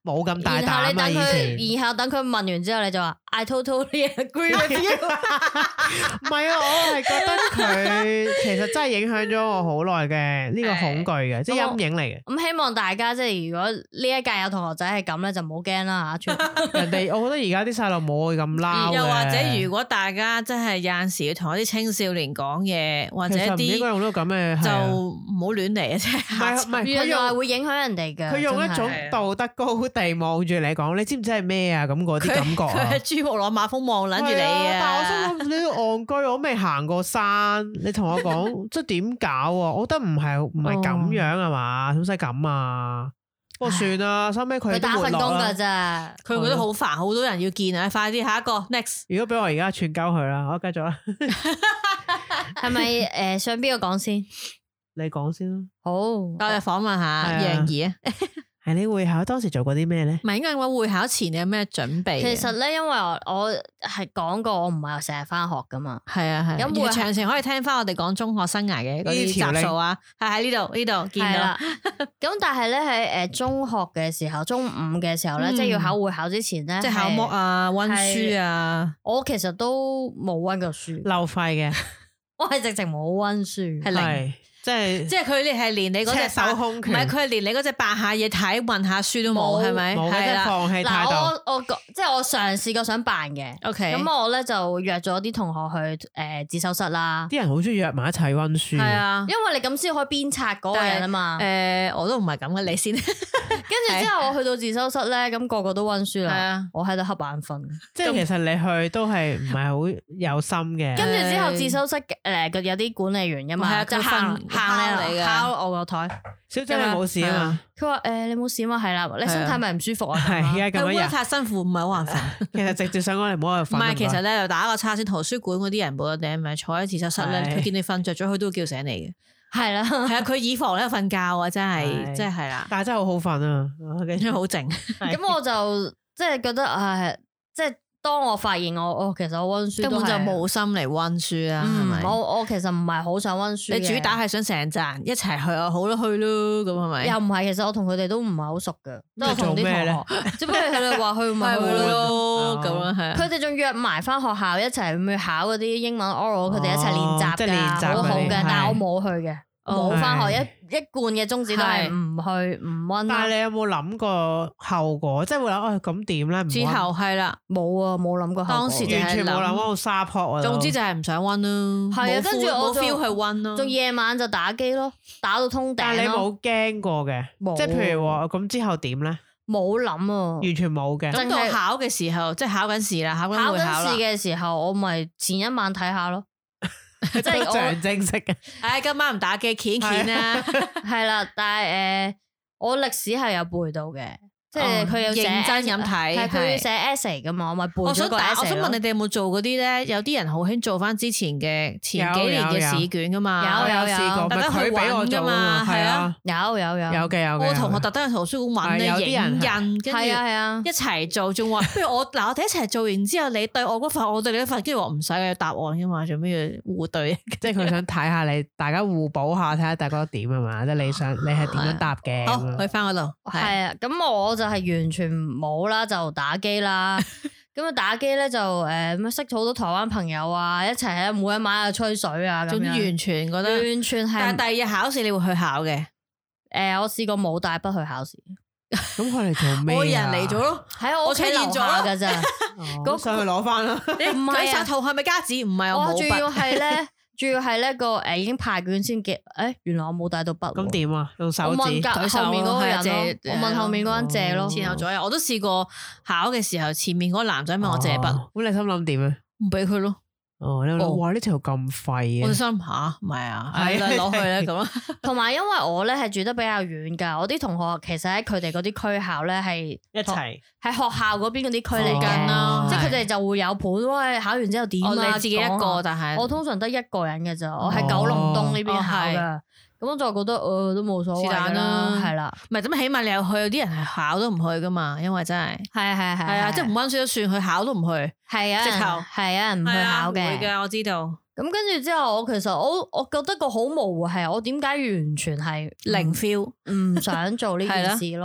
[SPEAKER 3] 冇咁大膽啊！
[SPEAKER 2] 然後等佢問完之後，你就話 I totally agree with you。
[SPEAKER 3] 唔係啊，我係覺得佢其實真係影響咗我好耐嘅呢個恐懼嘅，即係陰影嚟嘅。
[SPEAKER 2] 咁希望大家即係如果呢一屆有同學仔係咁咧，就唔好驚啦嚇。
[SPEAKER 3] 人哋我覺得而家啲細路冇咁撈。
[SPEAKER 4] 又或者如果大家真係有陣時要同一啲青少年講嘢，或者啲
[SPEAKER 3] 唔應該用到咁嘅，
[SPEAKER 4] 就唔好亂嚟啊！啫，
[SPEAKER 3] 唔係
[SPEAKER 2] 原來會影響人哋嘅。
[SPEAKER 3] 佢用一種道德高地望住你講，你知唔知係咩啊？咁嗰啲感覺啊！
[SPEAKER 4] 佢係珠穆朗瑪峰望撚住你啊！
[SPEAKER 3] 但係我心諗你都戇居，我未行過山，你同我講即係點搞啊？我覺得唔係咁樣係嘛？使唔使咁啊？不過算啦，收尾佢
[SPEAKER 2] 打份工㗎咋？
[SPEAKER 4] 佢覺得好煩，好多人要見啊！快啲下一個 next。
[SPEAKER 3] 如果俾我而家串鳩佢啦，我繼續啦。
[SPEAKER 2] 係咪想邊個講先？
[SPEAKER 3] 你講先啦。
[SPEAKER 2] 好，
[SPEAKER 4] 我哋訪問下楊怡啊。
[SPEAKER 3] 係你會考當時做過啲咩咧？
[SPEAKER 4] 唔係應該話會考前你有咩準備？
[SPEAKER 2] 其實咧，因為我係講過，我唔係成日翻學噶嘛。
[SPEAKER 4] 係啊係。咁詳情可以聽翻我哋講中學生涯嘅嗰啲集數啊。係喺呢度見到。
[SPEAKER 2] 咁但係咧喺中學嘅時候，中五嘅時候咧，即係要考會考之前咧，
[SPEAKER 4] 即係考模啊、溫書啊。
[SPEAKER 2] 我其實都冇溫過書，
[SPEAKER 3] 漏費嘅。
[SPEAKER 2] 我係直情冇溫書，
[SPEAKER 3] 係零。即係
[SPEAKER 4] 佢哋係連你嗰隻
[SPEAKER 3] 手空拳，
[SPEAKER 4] 唔係佢係連你嗰隻扮下嘢睇、問下書都冇，係咪？
[SPEAKER 3] 冇嘅放棄態度。
[SPEAKER 2] 嗱，我即係我嘗試過想扮嘅。OK，咁我咧就約咗啲同學去自修室啦。
[SPEAKER 3] 啲人好中意約埋一齊溫書。
[SPEAKER 2] 係啊，因為你咁先可以鞭策嗰個人啊嘛。
[SPEAKER 4] 我都唔係咁嘅，你先。
[SPEAKER 2] 跟住之後我去到自修室咧，咁個個都溫書啦。我喺度瞌眼瞓。
[SPEAKER 3] 即係其實你去都係唔係好有心嘅。
[SPEAKER 2] 跟住之後自修室有啲管理員噶嘛，就行嚟敲我個台，
[SPEAKER 3] 小姐你冇事啊嘛？
[SPEAKER 2] 佢話你冇事啊嘛？係啦，你身體咪唔舒服啊？
[SPEAKER 3] 係而家咁樣，
[SPEAKER 4] 太辛苦唔係好眼瞓。其實
[SPEAKER 3] 直接想講你唔好喺度瞓。唔係，
[SPEAKER 4] 其實咧就打個叉先。圖書館嗰啲人冇得頂，咪坐喺自修室咧，佢見你瞓着咗，佢都會叫醒你嘅。係啦，係啊，佢以防咧瞓覺啊，真係啦。
[SPEAKER 3] 但係真係好好瞓啊，
[SPEAKER 4] 真係好靜。
[SPEAKER 2] 咁我就即係覺得即係。當我發現我其實我溫書
[SPEAKER 4] 根本就冇心嚟溫書啦，係咪？
[SPEAKER 2] 我其實唔係好想溫書。
[SPEAKER 4] 你主打係想成站一齊去啊，好咯，去咯，咁係咪？
[SPEAKER 2] 又唔係，其實我同佢哋都唔係好熟嘅，都係同啲同學。只不過佢哋話去咪去咯，咁樣係。佢哋仲約埋翻學校一齊去考嗰啲英文 oral，佢哋一齊練習㗎，好好嘅。但係我冇去嘅。冇翻學一貫嘅宗旨都係唔去唔溫。
[SPEAKER 3] 但係你有冇諗過後果？即係會諗咁點咧？
[SPEAKER 4] 之後係啦，
[SPEAKER 2] 冇啊，冇諗過後果。
[SPEAKER 4] 當時
[SPEAKER 3] 完全冇諗到沙坡啊。
[SPEAKER 4] 總之就係唔想溫咯。
[SPEAKER 2] 係啊，跟住我
[SPEAKER 4] 冇 feel 去溫咯。
[SPEAKER 2] 仲夜晚就打機咯，打到通頂。
[SPEAKER 3] 但係你冇驚過嘅，即係譬如話咁之後點咧？
[SPEAKER 2] 冇諗啊，
[SPEAKER 3] 完全冇嘅。
[SPEAKER 4] 咁到考嘅時候，即係考緊試啦，考緊會考啦。
[SPEAKER 2] 考緊試嘅時候，我咪前一晚睇下咯。
[SPEAKER 3] 即係象徵式嘅，
[SPEAKER 4] 今晚唔打機，鉗啦，
[SPEAKER 2] 係啦。但係我歷史係有背到嘅，即係佢有
[SPEAKER 4] 認真咁睇，
[SPEAKER 2] 係佢要寫 essay 噶嘛，我咪背咗個 essay。
[SPEAKER 4] 我想問你哋有冇做嗰啲咧？有啲人好興做翻之前嘅前幾年嘅試卷噶嘛？
[SPEAKER 2] 有
[SPEAKER 3] 試過，
[SPEAKER 4] 特登去揾噶嘛？係啊，
[SPEAKER 2] 有
[SPEAKER 3] 嘅。
[SPEAKER 4] 我同學特登去圖書館揾咧，影印，跟住一齊做，仲話不如我哋一齊做完之後，你對我嗰份，我對你嗰份，跟住話唔使有答案噶嘛，做咩要互對？
[SPEAKER 3] 即係佢想睇下你大家互補下，睇下大家點啊嘛？即係你係點樣答嘅？
[SPEAKER 4] 好，去翻嗰度。
[SPEAKER 2] 係啊，咁我就係完全冇啦，就打機啦。咁啊打機咧就識咗好多台灣朋友啊，一齊喺每一晚啊吹水啊咁樣。
[SPEAKER 4] 完全覺得
[SPEAKER 2] 完全係。但
[SPEAKER 4] 係第二日考試你會去考嘅？
[SPEAKER 2] 我試過冇帶筆去考試。
[SPEAKER 3] 咁佢嚟做咩？
[SPEAKER 4] 我人嚟咗咯，
[SPEAKER 2] 喺我屋企樓下噶咋。
[SPEAKER 3] 咁上去攞翻啦。
[SPEAKER 2] 唔係啊，
[SPEAKER 4] 圖係咪加紙？唔係我冇筆。
[SPEAKER 2] 仲要係呢個已經派卷先嘅，原來我冇帶到筆。
[SPEAKER 3] 咁點啊？用手指。
[SPEAKER 2] 我問後面嗰個人借，我問後面嗰人借咯。
[SPEAKER 4] 前後左右，我都試過考嘅時候，前面嗰個男仔問我借筆，
[SPEAKER 3] 咁你心諗點啊？
[SPEAKER 4] 唔俾佢咯。
[SPEAKER 3] 你諗哇呢條咁廢嘅。
[SPEAKER 4] 我心吓，唔係啊，係啦，攞去啦咁。
[SPEAKER 2] 同埋因為我咧係住得比較遠噶，我啲同學其實喺佢哋嗰啲區校咧係
[SPEAKER 3] 一齊
[SPEAKER 2] 喺學校嗰邊嗰啲區嚟嘅，即係佢哋就會有盤，喂，考完之後點啊？
[SPEAKER 4] 你自己一個，但係
[SPEAKER 2] 我通常得一個人嘅咋，我喺九龍東呢邊考噶。咁我就覺得都冇所謂啦，係啦，
[SPEAKER 4] 唔係咁起碼你又去，有啲人係考都唔去噶嘛，因為真係
[SPEAKER 2] 係啊，
[SPEAKER 4] 即係唔溫書都算，去考都唔去，
[SPEAKER 2] 係啊，直頭係啊，唔去考嘅，
[SPEAKER 4] 會噶，我知道。
[SPEAKER 2] 咁跟住之後，其實我覺得個好模糊係我點解完全係
[SPEAKER 4] 零 feel，
[SPEAKER 2] 唔想做呢件事咯。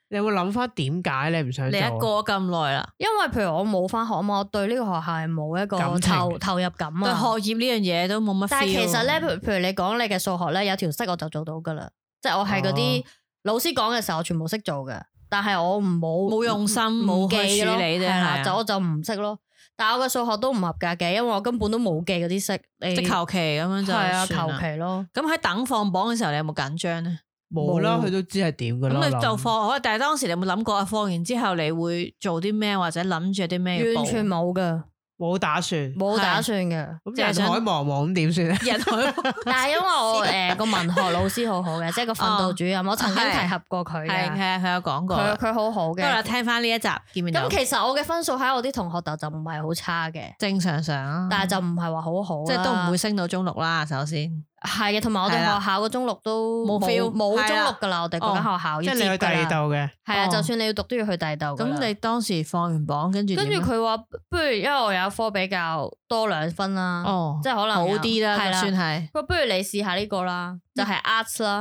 [SPEAKER 3] 你有冇諗翻點解你唔想做？
[SPEAKER 4] 你一過咁耐啦，
[SPEAKER 2] 因為譬如我冇翻學啊嘛，我對呢個學校係冇一個投入感啊。
[SPEAKER 4] 對學業呢樣嘢都冇乜 feel。
[SPEAKER 2] 但係其實咧，譬如你講你嘅數學咧，有條式我就做到噶啦，即係我係嗰啲老師講嘅時候，我全部識做嘅。但係我冇
[SPEAKER 4] 用心冇去處理啫，係啦，
[SPEAKER 2] 我就唔識咯。但係我嘅數學都唔合格嘅，因為我根本都冇記嗰啲式，
[SPEAKER 4] 即係求其咁樣就
[SPEAKER 2] 係啊，求其咯。
[SPEAKER 4] 咁喺等放榜嘅時候，你有冇緊張咧？
[SPEAKER 3] 冇啦，佢都知係點噶啦。
[SPEAKER 4] 咁你就放，但係當時你有冇諗過啊？放完之後你會做啲咩，或者諗住啲咩？
[SPEAKER 2] 完全冇噶。
[SPEAKER 3] 冇打算，
[SPEAKER 2] 冇打算嘅，
[SPEAKER 3] 咁人海茫茫咁點算咧？
[SPEAKER 2] 人海，但係因為我個文學老師好好嘅，即係個訓導主任，我曾經提及過佢嘅，
[SPEAKER 4] 係啊，佢有講過，
[SPEAKER 2] 佢好好嘅。
[SPEAKER 4] 都係聽翻呢一集，見唔見到？
[SPEAKER 2] 咁其實我嘅分數喺我啲同學度就唔係好差嘅，
[SPEAKER 4] 正常上，
[SPEAKER 2] 但係就唔係話好好，
[SPEAKER 4] 即係都唔會升到中六啦。首先
[SPEAKER 2] 係嘅，同埋我哋學校個中六都冇 feel，冇中六噶啦。我哋嗰間學校，
[SPEAKER 3] 即係你去第二度嘅，
[SPEAKER 2] 係啊，就算你要讀都要去第二度。
[SPEAKER 4] 咁你當時放完榜，跟住
[SPEAKER 2] 佢話，不如因為我有一科比較多2分啦，即係可能
[SPEAKER 4] 好啲啦，
[SPEAKER 2] 係啦，
[SPEAKER 4] 算係。
[SPEAKER 2] 不如你試下呢個啦，就係 arts 啦。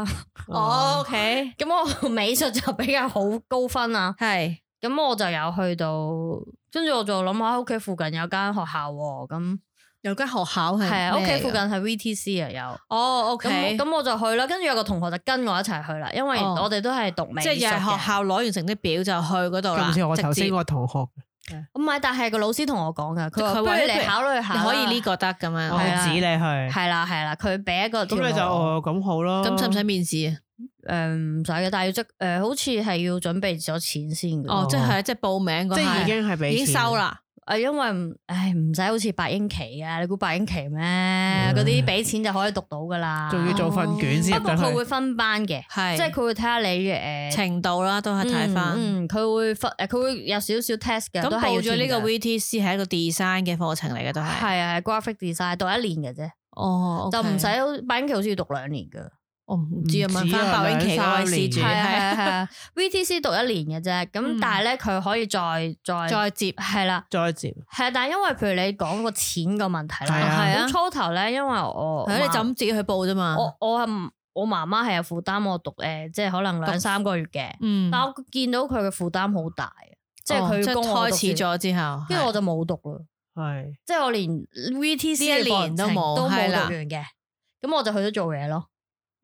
[SPEAKER 4] OK，
[SPEAKER 2] 咁我美術就比較好高分啊。
[SPEAKER 4] 係，
[SPEAKER 2] 咁我就有去到，跟住我就諗下屋企附近有間學校，咁
[SPEAKER 4] 有間學校係
[SPEAKER 2] 啊，屋企附近係 VTC 啊，有。
[SPEAKER 4] OK，
[SPEAKER 2] 咁我就去啦，跟住有個同學就跟我一齊去啦，因為我哋都係讀美術嘅，
[SPEAKER 4] 即係學校攞完成績表就去嗰度啦。
[SPEAKER 3] 好似我頭先個同學。
[SPEAKER 2] 唔係，但係個老師同我講噶，佢話不如你考慮下，
[SPEAKER 4] 可以呢個得咁樣，
[SPEAKER 3] 我指你去。
[SPEAKER 2] 係啦，佢俾一個條路。
[SPEAKER 3] 咁你就咁好咯。
[SPEAKER 4] 咁使唔使面試啊？
[SPEAKER 2] 唔使嘅，但係要好似係要準備咗錢先嘅。
[SPEAKER 4] 即係報名嗰，
[SPEAKER 3] 即係已經係俾
[SPEAKER 4] 已經收啦。
[SPEAKER 2] 因為唔使好似白英奇啊，你估白英奇咩？嗰啲俾錢就可以讀到噶啦，
[SPEAKER 3] 仲要做份卷先。
[SPEAKER 2] 不過佢會分班嘅，
[SPEAKER 4] 係
[SPEAKER 2] 即係佢會睇下你嘅
[SPEAKER 4] 程度啦，都係睇翻。
[SPEAKER 2] 佢會有少少 test 嘅。
[SPEAKER 4] 咁報咗呢個 VTC 係一個 design 嘅課程嚟嘅，都係。
[SPEAKER 2] 係啊，係 graphic design 讀1年嘅啫。
[SPEAKER 4] 就
[SPEAKER 2] 唔使白英奇好似要讀2年噶。
[SPEAKER 4] 我唔知啊，問翻白英奇嗰位施主。
[SPEAKER 2] 係啊，VTC 讀1年嘅啫，咁但係咧佢可以再接，係啦，
[SPEAKER 3] 再接。
[SPEAKER 2] 係啊，但係因為譬如你講個錢個問題啦，
[SPEAKER 4] 係啊，
[SPEAKER 2] 初頭咧，因為
[SPEAKER 4] 你就咁自己去報啫嘛。
[SPEAKER 2] 我媽媽係有負擔我讀即係可能2-3個月嘅，但我見到佢嘅負擔好大，即係佢供我
[SPEAKER 4] 開始咗之後，
[SPEAKER 2] 跟住我就冇讀啦。
[SPEAKER 3] 係，
[SPEAKER 2] 即係我連 VTC
[SPEAKER 4] 1年都冇
[SPEAKER 2] 讀完嘅，咁我就去咗做嘢咯。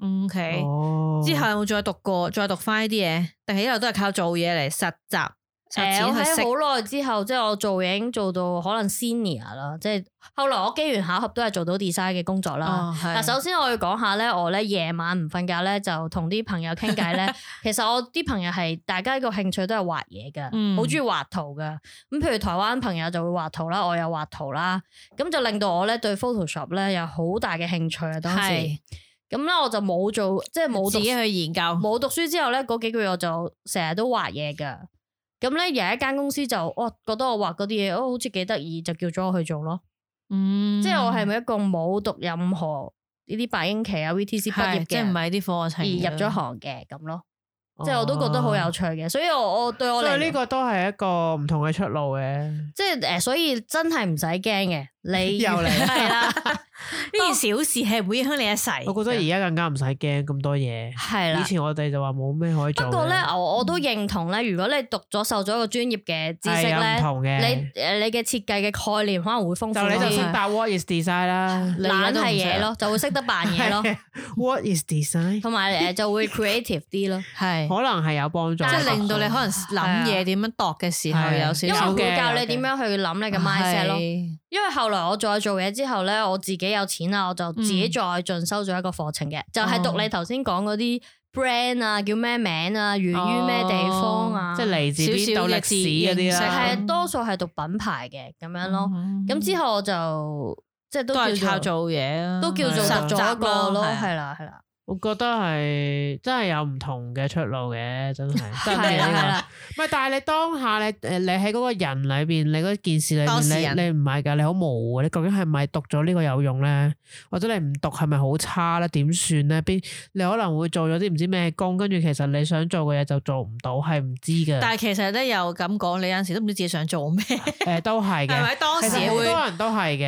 [SPEAKER 4] OK，之後有冇再讀過，再讀翻呢啲嘢？定係一路都係靠做嘢嚟實習？
[SPEAKER 2] 我喺好耐之後，即係我做嘢已經做到可能 senior 啦，即係後來我機緣巧合都係做到 design 嘅工作啦。嗱，首先我要講下咧，我咧夜晚唔瞓覺咧，就同啲朋友傾偈咧。其實我啲朋友係大家個興趣都係畫嘢噶，好中意畫圖噶。咁譬如台灣朋友就會畫圖啦，我有畫圖啦，咁就令到我咧對 Photoshop 咧有好大嘅興趣啊。當時。咁咧我就冇做，即係冇
[SPEAKER 4] 自己去研究。
[SPEAKER 2] 冇讀書之後咧，嗰幾個月我就成日都畫嘢噶。咁咧有一間公司就覺得我畫嗰啲嘢好似幾得意，就叫咗我去做咯。即係我係咪一個冇讀任何呢啲白英奇啊 VTC 畢業嘅，
[SPEAKER 4] 即係唔係啲課程
[SPEAKER 2] 而入咗行嘅咁咯。即係我都覺得好有趣嘅，所以我對我嚟，所以
[SPEAKER 3] 呢個都係一個唔同嘅出路嘅。
[SPEAKER 2] 即係所以真係唔使驚嘅。你
[SPEAKER 3] 又嚟
[SPEAKER 2] 係啦，
[SPEAKER 4] 呢件小事係唔會影響你一世。
[SPEAKER 3] 我覺得而家更加唔使驚咁多嘢。
[SPEAKER 2] 係啦，
[SPEAKER 3] 以前我哋就話冇咩可以做。
[SPEAKER 2] 不過咧，我都認同咧，如果你讀咗受咗一個專業嘅知識咧，
[SPEAKER 3] 唔同嘅，
[SPEAKER 2] 你嘅設計嘅概念可能會豐富啲。
[SPEAKER 3] 就你就識答 What is design 啦，
[SPEAKER 2] 懶係嘢咯，就會識得扮嘢咯。
[SPEAKER 3] What is design？
[SPEAKER 2] 同埋就會 creative 啲咯，
[SPEAKER 4] 係
[SPEAKER 3] 可能係有幫助，
[SPEAKER 4] 即係令到你可能諗嘢點樣度嘅時候有少少。
[SPEAKER 2] 因為會教你點樣去諗你嘅 mindset 咯。因為後來我再做嘢之後咧，我自己有錢啦，我就自己再進修咗一個課程嘅，就係讀你頭先講嗰啲 brand 啊，叫咩名啊，源於咩地方啊，
[SPEAKER 3] 即係嚟自邊度歷史嗰啲啦，
[SPEAKER 2] 係多數係讀品牌嘅咁樣咯。咁之後我就即係都係
[SPEAKER 4] 靠做嘢，
[SPEAKER 2] 都叫做讀咗一個咯，係啦係啦。
[SPEAKER 3] 我覺得係真係有唔同嘅出路嘅，真係。
[SPEAKER 2] 係啦，
[SPEAKER 3] 唔係，但係你當下你喺嗰個人裏邊，你嗰件事裏邊，你唔係㗎，你好模糊。你究竟係咪讀咗呢個有用咧？或者你唔讀係咪好差咧？點算咧？你可能會做咗啲唔知咩工，跟住其實你想做嘅嘢就做唔到，係唔知㗎。
[SPEAKER 4] 但係其實咧又咁講，你有陣時都唔知自己想做咩。
[SPEAKER 3] 都係嘅。
[SPEAKER 4] 係咪當時
[SPEAKER 3] 好多人都係嘅。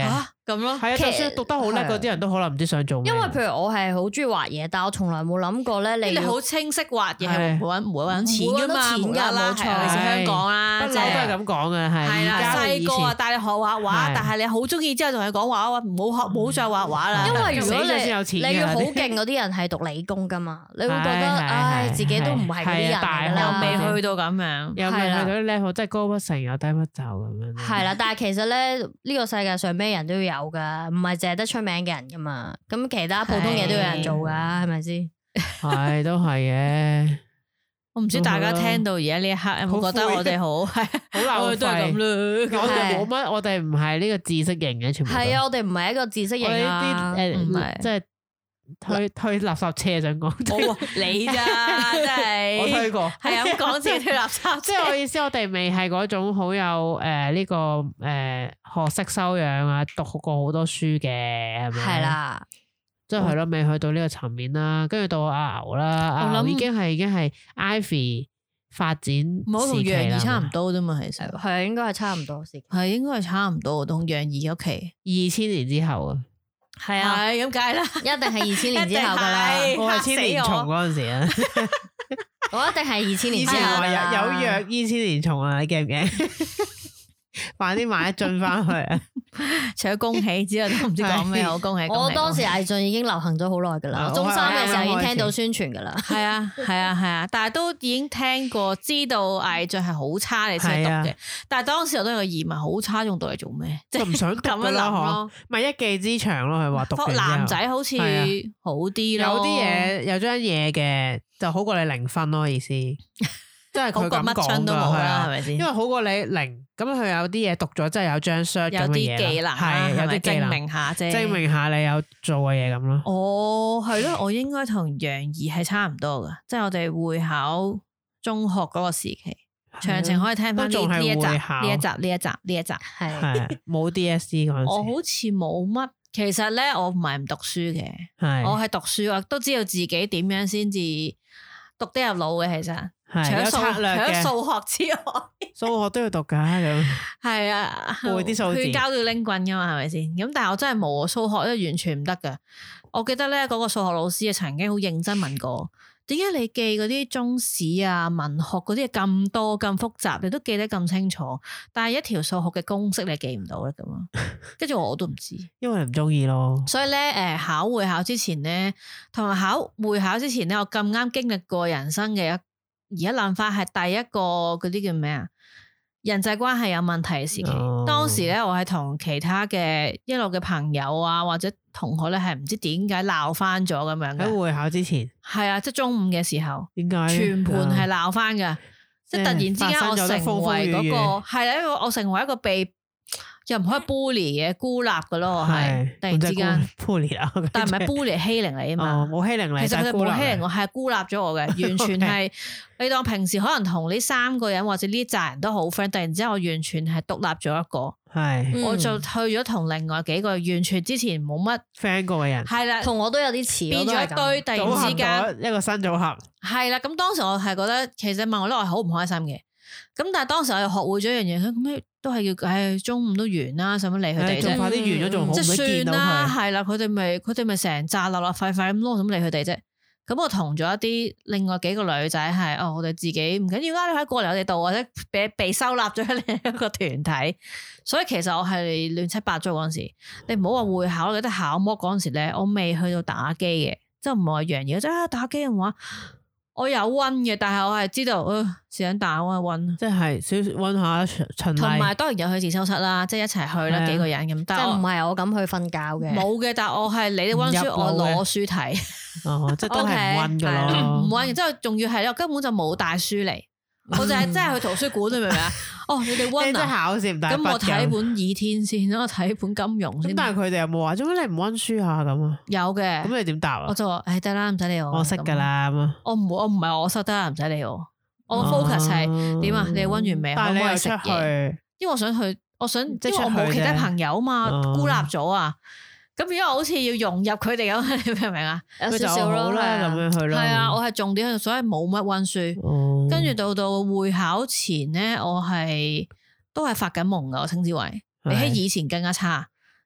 [SPEAKER 2] 咁咯。
[SPEAKER 3] 係啊，就算讀得好叻嗰啲人都可能唔知想做咩。
[SPEAKER 2] 因為譬如我係好中意畫嘢，但我從來冇諗過咧，你
[SPEAKER 4] 好清晰畫嘢係唔會揾錢噶嘛，
[SPEAKER 2] 冇錯，
[SPEAKER 4] 香港啦，
[SPEAKER 3] 不嬲都係咁講嘅，係
[SPEAKER 4] 啦。細個啊，帶你學畫畫，但係你好中意之後同佢講話，唔好再畫畫啦。
[SPEAKER 2] 因為如果你要好勁嗰啲人係讀理工噶嘛，你會覺得唉，自己都唔係嗰啲人㗎啦，
[SPEAKER 4] 又未去到咁樣，
[SPEAKER 3] 又未去到啲 level，即係高不成又低不就咁樣。
[SPEAKER 2] 係啦，但係其實咧，呢個世界上咩人都要有噶，唔係淨係得出名嘅人噶嘛。咁其他普通嘢都有人做噶，係咪先？
[SPEAKER 3] 係都係嘅。
[SPEAKER 4] 我唔知大家聽到而家呢一刻有冇覺得我哋好係好流都係咁啦。
[SPEAKER 3] 我哋冇乜，我哋唔係呢個知識型嘅，全部
[SPEAKER 2] 係啊，我哋唔係一個知識型啊，
[SPEAKER 3] 唔係即係推垃圾車想講。
[SPEAKER 4] 你咋真係
[SPEAKER 3] 我推過，
[SPEAKER 4] 係啊咁講自己推垃圾車。
[SPEAKER 3] 即係我意思，我哋未係嗰種好有呢個學識修養啊，讀過好多書嘅係咪？
[SPEAKER 2] 係啦。
[SPEAKER 3] 即係咯，未去到呢個層面啦，跟住到阿牛啦，阿牛已經係 Ivy 發展時期啦，
[SPEAKER 4] 同楊怡差唔多啫嘛，其實
[SPEAKER 2] 係啊，應該係差唔多時期，
[SPEAKER 4] 係應該係差唔多，同楊怡嗰期
[SPEAKER 3] 2000年之後啊，
[SPEAKER 2] 係啊，
[SPEAKER 4] 咁梗係啦，
[SPEAKER 2] 一定係2000年之後噶啦，
[SPEAKER 3] 我係千年蟲嗰陣時啊，
[SPEAKER 2] 我一定係2000年之後
[SPEAKER 3] 有約2000年蟲啊，你驚唔驚？快啲買一樽翻去啊！
[SPEAKER 4] 除咗恭喜之外，都唔知講咩好。恭喜！
[SPEAKER 2] 我當時毅進已經流行咗好耐噶啦，中三嘅時候已經聽到宣傳噶啦。
[SPEAKER 4] 係啊，但係都已經聽過，知道毅進係好差你先讀嘅。但係當時我都有個疑問，好差仲讀嚟做咩？即係
[SPEAKER 3] 唔想讀咁樣咯，咪一技之長咯。佢話讀
[SPEAKER 4] 男仔好似好啲咯，
[SPEAKER 3] 有啲嘢有張嘢嘅就好過你0分咯，意思。即係佢咁講噶，係咪先？因為好過你0，咁佢有啲嘢讀咗，即係有張 cert 咁嘅嘢，
[SPEAKER 4] 有啲技能，係有啲證明下啫，證
[SPEAKER 3] 明下你有做嘅嘢咁咯。
[SPEAKER 4] 哦，係咯，我應該同楊怡係差唔多噶，即係我哋會考中學嗰個時期，詳情可以聽翻呢一集，
[SPEAKER 3] 係冇 DSE 嗰陣時，
[SPEAKER 4] 我好似冇乜。其實咧，我唔係唔讀書嘅，我係讀書，我都知道自己點樣先至讀得入腦嘅，其實。除咗策略嘅，除咗數學之外，
[SPEAKER 3] 數學都要讀噶咁。
[SPEAKER 4] 係啊，
[SPEAKER 3] 背啲數字，
[SPEAKER 4] 佢交到拎棍噶嘛，係咪先？咁但係我真係冇數學咧，完全唔得噶。我記得咧，嗰個數學老師啊，曾經好認真問過，點解你記嗰啲中史啊、文學嗰啲嘢咁多咁複雜，你都記得咁清楚，但係一條數學嘅公式你記唔到咧咁啊？跟住我都唔知，
[SPEAKER 3] 因為你唔中意咯。
[SPEAKER 4] 所以咧，考會考之前咧，同埋考會考之前咧，我咁啱經歷過人生嘅而家諗法係第一個嗰啲叫咩啊？人際關係有問題嘅時期，當時咧我係同其他嘅一路嘅朋友啊或者同學咧係唔知點解鬧翻咗咁樣嘅。
[SPEAKER 3] 喺會考之前，
[SPEAKER 4] 係啊，即係中午嘅時候，
[SPEAKER 3] 點解
[SPEAKER 4] 全盤係鬧翻㗎？即係突然之間我成為嗰個係啦，因為我成為一個被又唔可以 bully 嘅孤立嘅咯，係突然之間
[SPEAKER 3] bully 啊，
[SPEAKER 4] 但係唔係 bully 欺凌你啊嘛，
[SPEAKER 3] 冇欺凌你，
[SPEAKER 4] 其實佢哋冇欺凌我，係孤立咗我嘅，完全係你當平時可能同呢3個人或者呢扎人都好 friend，突然之間我完全係獨立咗一個，係我就去咗同另外幾個完全之前冇乜
[SPEAKER 3] friend 過嘅人，
[SPEAKER 2] 係啦，同我都有啲似，
[SPEAKER 4] 變咗一堆，突然之間
[SPEAKER 3] 一個新組合，
[SPEAKER 4] 係啦，咁當時我係覺得其實問我咧，我係好唔開心嘅。咁但係當時我又學會咗一樣嘢，咁都係要，中午都完啦，使乜理佢哋啫？
[SPEAKER 3] 快啲完咗仲好，
[SPEAKER 4] 即係算啦，係啦，佢哋咪成扎立立廢廢咁咯，使乜理佢哋啫？咁我同咗一啲另外幾個女仔係，我哋自己唔緊要啦，你可以過嚟我哋度，或者被收納咗喺另一個團體。所以其實我係亂七八糟嗰陣時，你唔好話會考，你覺得考模嗰陣時咧，我未去到打機嘅，即係唔係話樣嘢，即係打機嘅話。我有溫嘅，但係我係知道，時間大我係溫，
[SPEAKER 3] 即係少溫下循例。
[SPEAKER 4] 同埋當然有去自修室啦，即係一齊去啦，幾個人咁。
[SPEAKER 2] 即係唔係我咁去瞓覺嘅。冇
[SPEAKER 4] 嘅，但係我係你哋溫書，我攞書睇。
[SPEAKER 3] 哦，即係都係唔溫噶咯。
[SPEAKER 4] 唔溫，之後仲要係我根本就冇帶書嚟。我就係真係去圖書館，你明唔明啊？你哋溫啊！
[SPEAKER 3] 即係考試唔帶筆。
[SPEAKER 4] 咁我睇本《倚天》先，我睇本金庸先。
[SPEAKER 3] 但係佢哋有冇話，做咩你唔溫書啊？咁啊？
[SPEAKER 4] 有嘅。咁
[SPEAKER 3] 你點答啊？
[SPEAKER 4] 我就話，得啦，唔使理我。
[SPEAKER 3] 我識噶啦，咁啊。我唔
[SPEAKER 4] 係我識得啦，唔使理我。我 focus 係點啊？你溫完未？
[SPEAKER 3] 但係你又出去，
[SPEAKER 4] 因為我想去，即係我冇其他朋友嘛，孤立咗啊。咁因為好似要融入佢哋咁，你明唔明啊？
[SPEAKER 2] 有少少咯，
[SPEAKER 3] 咁樣去咯。
[SPEAKER 4] 係啊，我係重點，所以冇乜溫書。跟住到會考前咧，我係都係發緊夢噶，我稱之為比起以前更加差。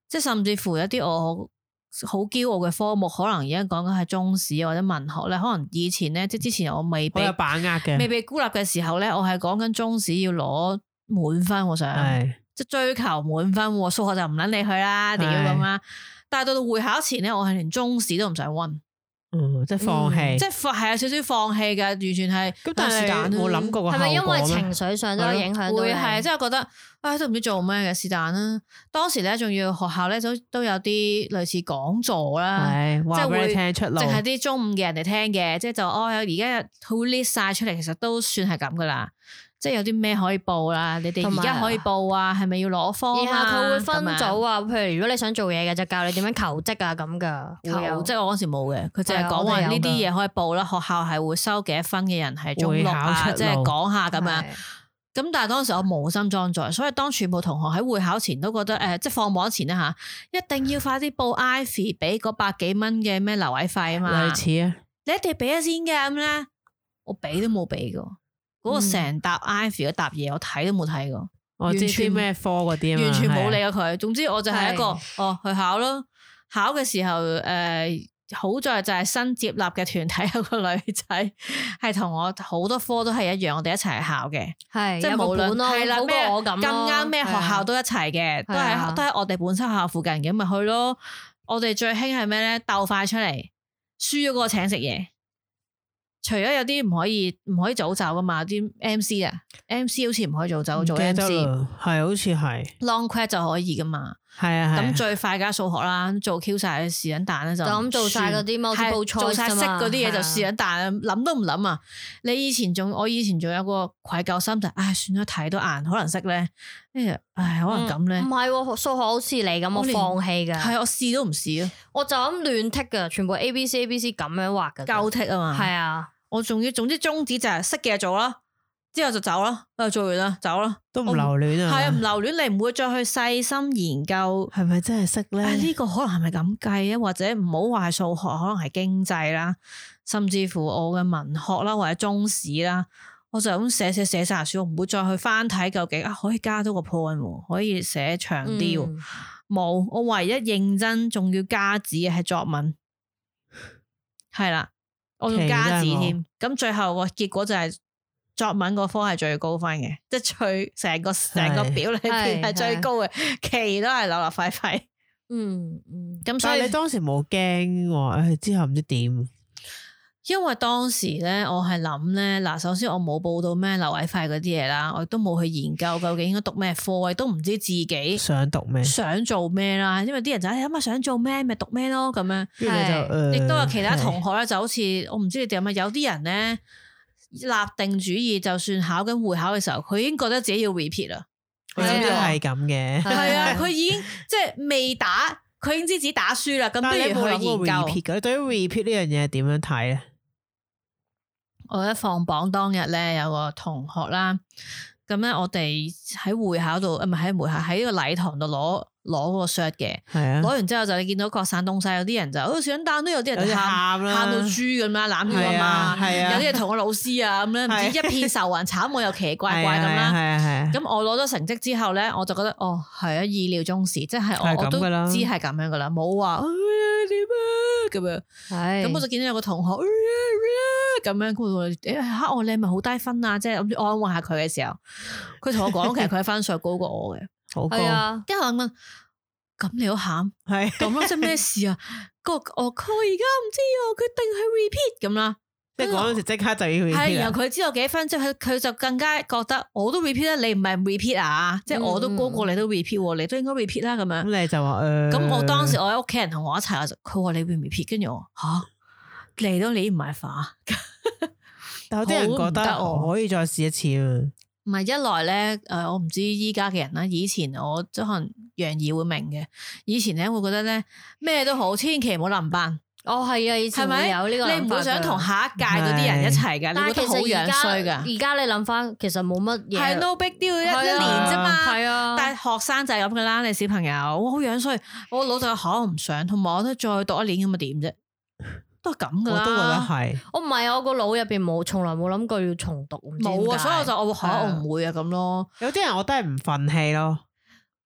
[SPEAKER 4] 即係甚至乎一啲我好驕傲嘅科目，可能而家講緊係中史或者文學咧，可能以前咧，即係之前我未被
[SPEAKER 3] 有把握嘅，
[SPEAKER 4] 未被孤立嘅時候咧，我係講緊中史要攞滿分，我想即係追求滿分，數學就唔撚理佢啦，點樣咁啦。但係到會考前咧，我係連中史都唔想溫。
[SPEAKER 3] 即係放棄，
[SPEAKER 4] 即係係有少少放棄嘅，完全係。
[SPEAKER 3] 咁但係我諗過個後果，係咪
[SPEAKER 2] 因為情緒上都有影響？
[SPEAKER 4] 會係，即係覺得都唔知做咩嘅，是但啦。當時咧仲要學校咧都有啲類似講座啦，即係會聽出路，淨係啲中五嘅人嚟聽嘅，即係就而家好 list 晒出嚟，其實都算係咁噶啦。即係有啲咩可以報啦？你哋而家可以報啊？係咪要攞科？
[SPEAKER 2] 然後佢會分組啊，譬如如果你想做嘢嘅，就教你點樣求職啊咁噶。
[SPEAKER 4] 求職我嗰時冇嘅，佢淨係講話呢啲嘢可以報啦。學校係會收幾多分嘅人係中六啊，即係講下咁樣。咁但係當時我無心裝載，所以當全部同學喺會考前都覺得即係放榜前咧嚇，一定要快啲報 Ivy 俾嗰100幾蚊嘅咩留位費啊嘛。
[SPEAKER 3] 類似啊，
[SPEAKER 4] 你一定俾咗先嘅咁咧，我俾都冇俾過。嗰個成沓 Ivy 嗰沓嘢，我睇都冇睇過，
[SPEAKER 3] 完全咩科嗰啲啊，
[SPEAKER 4] 完全冇理過佢。總之我就係一個去考咯。考嘅時候好在就係新接納嘅團體有個女仔係同我好多科都係一樣，我哋一齊考嘅，係即係無論係啦咩咁啱咩學校都一齊嘅，都係我哋本身學校附近嘅，咪去咯。我哋最興係咩咧？鬥快出嚟，輸咗嗰個請食嘢。除咗有啲唔可以早走噶嘛，啲 MC 啊 ，MC 好似唔可以早走做 MC，
[SPEAKER 3] 係好似係
[SPEAKER 4] long quit 就可以噶嘛，
[SPEAKER 3] 係啊，
[SPEAKER 4] 咁最快加數學啦，做 Q 晒嘅試緊蛋咧就
[SPEAKER 2] 咁做晒嗰啲 multiple choice
[SPEAKER 4] 做晒識嗰啲嘢就試緊蛋，諗都唔諗啊！我以前仲有個愧疚心就算啦，睇都硬，可能識咧，可能咁咧，
[SPEAKER 2] 唔係數學好似你咁，我放棄噶，
[SPEAKER 4] 係我試都唔試啊，
[SPEAKER 2] 我就咁亂剔噶，全部 ABC 咁樣畫噶，
[SPEAKER 4] 夠剔啊嘛，
[SPEAKER 2] 係啊。
[SPEAKER 4] 我總之宗旨就係識嘅就做啦，之後就走啦，做完啦走啦，
[SPEAKER 3] 都唔留戀啊，
[SPEAKER 4] 係啊，唔留戀，你唔會再去細心研究，
[SPEAKER 3] 係咪真係識咧？
[SPEAKER 4] 呢個可能係咪咁計啊？或者唔好話係數學，可能係經濟啦，甚至乎我嘅文學啦，或者中史啦，我就咁寫晒書，我唔會再去翻睇究竟可以加多個 point，可以寫長啲，冇，我唯一認真仲要加字嘅係作文，係啦。我用加字添，咁最後個結果就係作文嗰科係最高分嘅，即係成個表裏邊係最高嘅，其都係流流廢廢。咁所以
[SPEAKER 3] 你當時冇驚，之後唔知點。
[SPEAKER 4] 因為當時咧，我係諗咧，嗱，首先我冇報到咩留位費嗰啲嘢啦，我亦都冇去研究究竟應該讀咩科，亦都唔知自己
[SPEAKER 3] 想讀咩，
[SPEAKER 4] 想做咩啦。因為啲人就諗下想做咩，咪讀咩咯咁樣。
[SPEAKER 3] 係，
[SPEAKER 4] 亦都有其他同學咧，就好似我唔知你點啊，有啲人咧立定主意，就算考緊會考嘅時候，佢已經覺得自己要 repeat 啦。
[SPEAKER 3] 我知道係咁嘅，
[SPEAKER 4] 係啊，佢已經即係未打，佢已經知自己打輸啦。咁不如去研究。
[SPEAKER 3] repeat，對於 repeat 呢樣嘢點樣睇咧？
[SPEAKER 4] 我一放榜當日咧，有個同學啦，咁咧我哋喺會考度，唔係喺會考，喺呢個禮堂度攞個 cert 嘅，攞完之後就你見到各散東西，有啲人就好似想彈，都有啲人喊到豬咁啦，攬住啊嘛，有啲人同個老師啊咁樣，唔知一片愁雲慘霧又奇奇怪怪咁啦。咁我攞咗成績之後咧，我就覺得係啊，意料中事，即係我都知係咁樣噶啦，冇話點啊咁樣。咁我就見到有個同學咁樣，佢話你係咪好低分啊？即係諗住安慰下佢嘅時候，佢同我講，其實佢分數高過我嘅，
[SPEAKER 3] 好高。
[SPEAKER 4] 跟住我問，咁你好慘，係咁咯，即係咩事啊？佢而家唔知，我決定去 repeat 咁啦。
[SPEAKER 3] 即係嗰陣時即刻就要 repeat。係，
[SPEAKER 4] 然後佢知道幾分之後，佢就更加覺得我都 repeat 啦，你唔係唔 repeat 啊？即係我都高過你都 repeat，你都應該 repeat 啦。咁樣
[SPEAKER 3] 咁你就話
[SPEAKER 4] 咁我當時我喺屋企人同我一齊，佢話你會唔 repeat？跟住我嚟到你唔係化，
[SPEAKER 3] 但有啲人覺得我可以再試一次啊。
[SPEAKER 4] 唔係一來咧，我唔知依家嘅人啦。以前我即可能楊怡會明嘅。以前咧會覺得咧咩都好，千祈唔好臨班。
[SPEAKER 2] 係啊，以前會有呢個諗法。
[SPEAKER 4] 你唔會想同下一屆嗰啲人一齊噶，你覺得好樣衰噶。
[SPEAKER 2] 而家你諗翻，其實冇乜嘢。
[SPEAKER 4] 係 no big deal，一年啫嘛。係啊。但係學生就係咁噶啦，你小朋友，我好樣衰。我老豆考唔上，同埋我都再讀一年咁啊，點啫？都係咁噶啦，
[SPEAKER 3] 我都覺得係。
[SPEAKER 2] 我唔係，我個腦入邊從來冇諗過要重讀，
[SPEAKER 4] 冇啊，所以我唔會啊咁咯。
[SPEAKER 3] 有啲人我都係唔忿氣咯，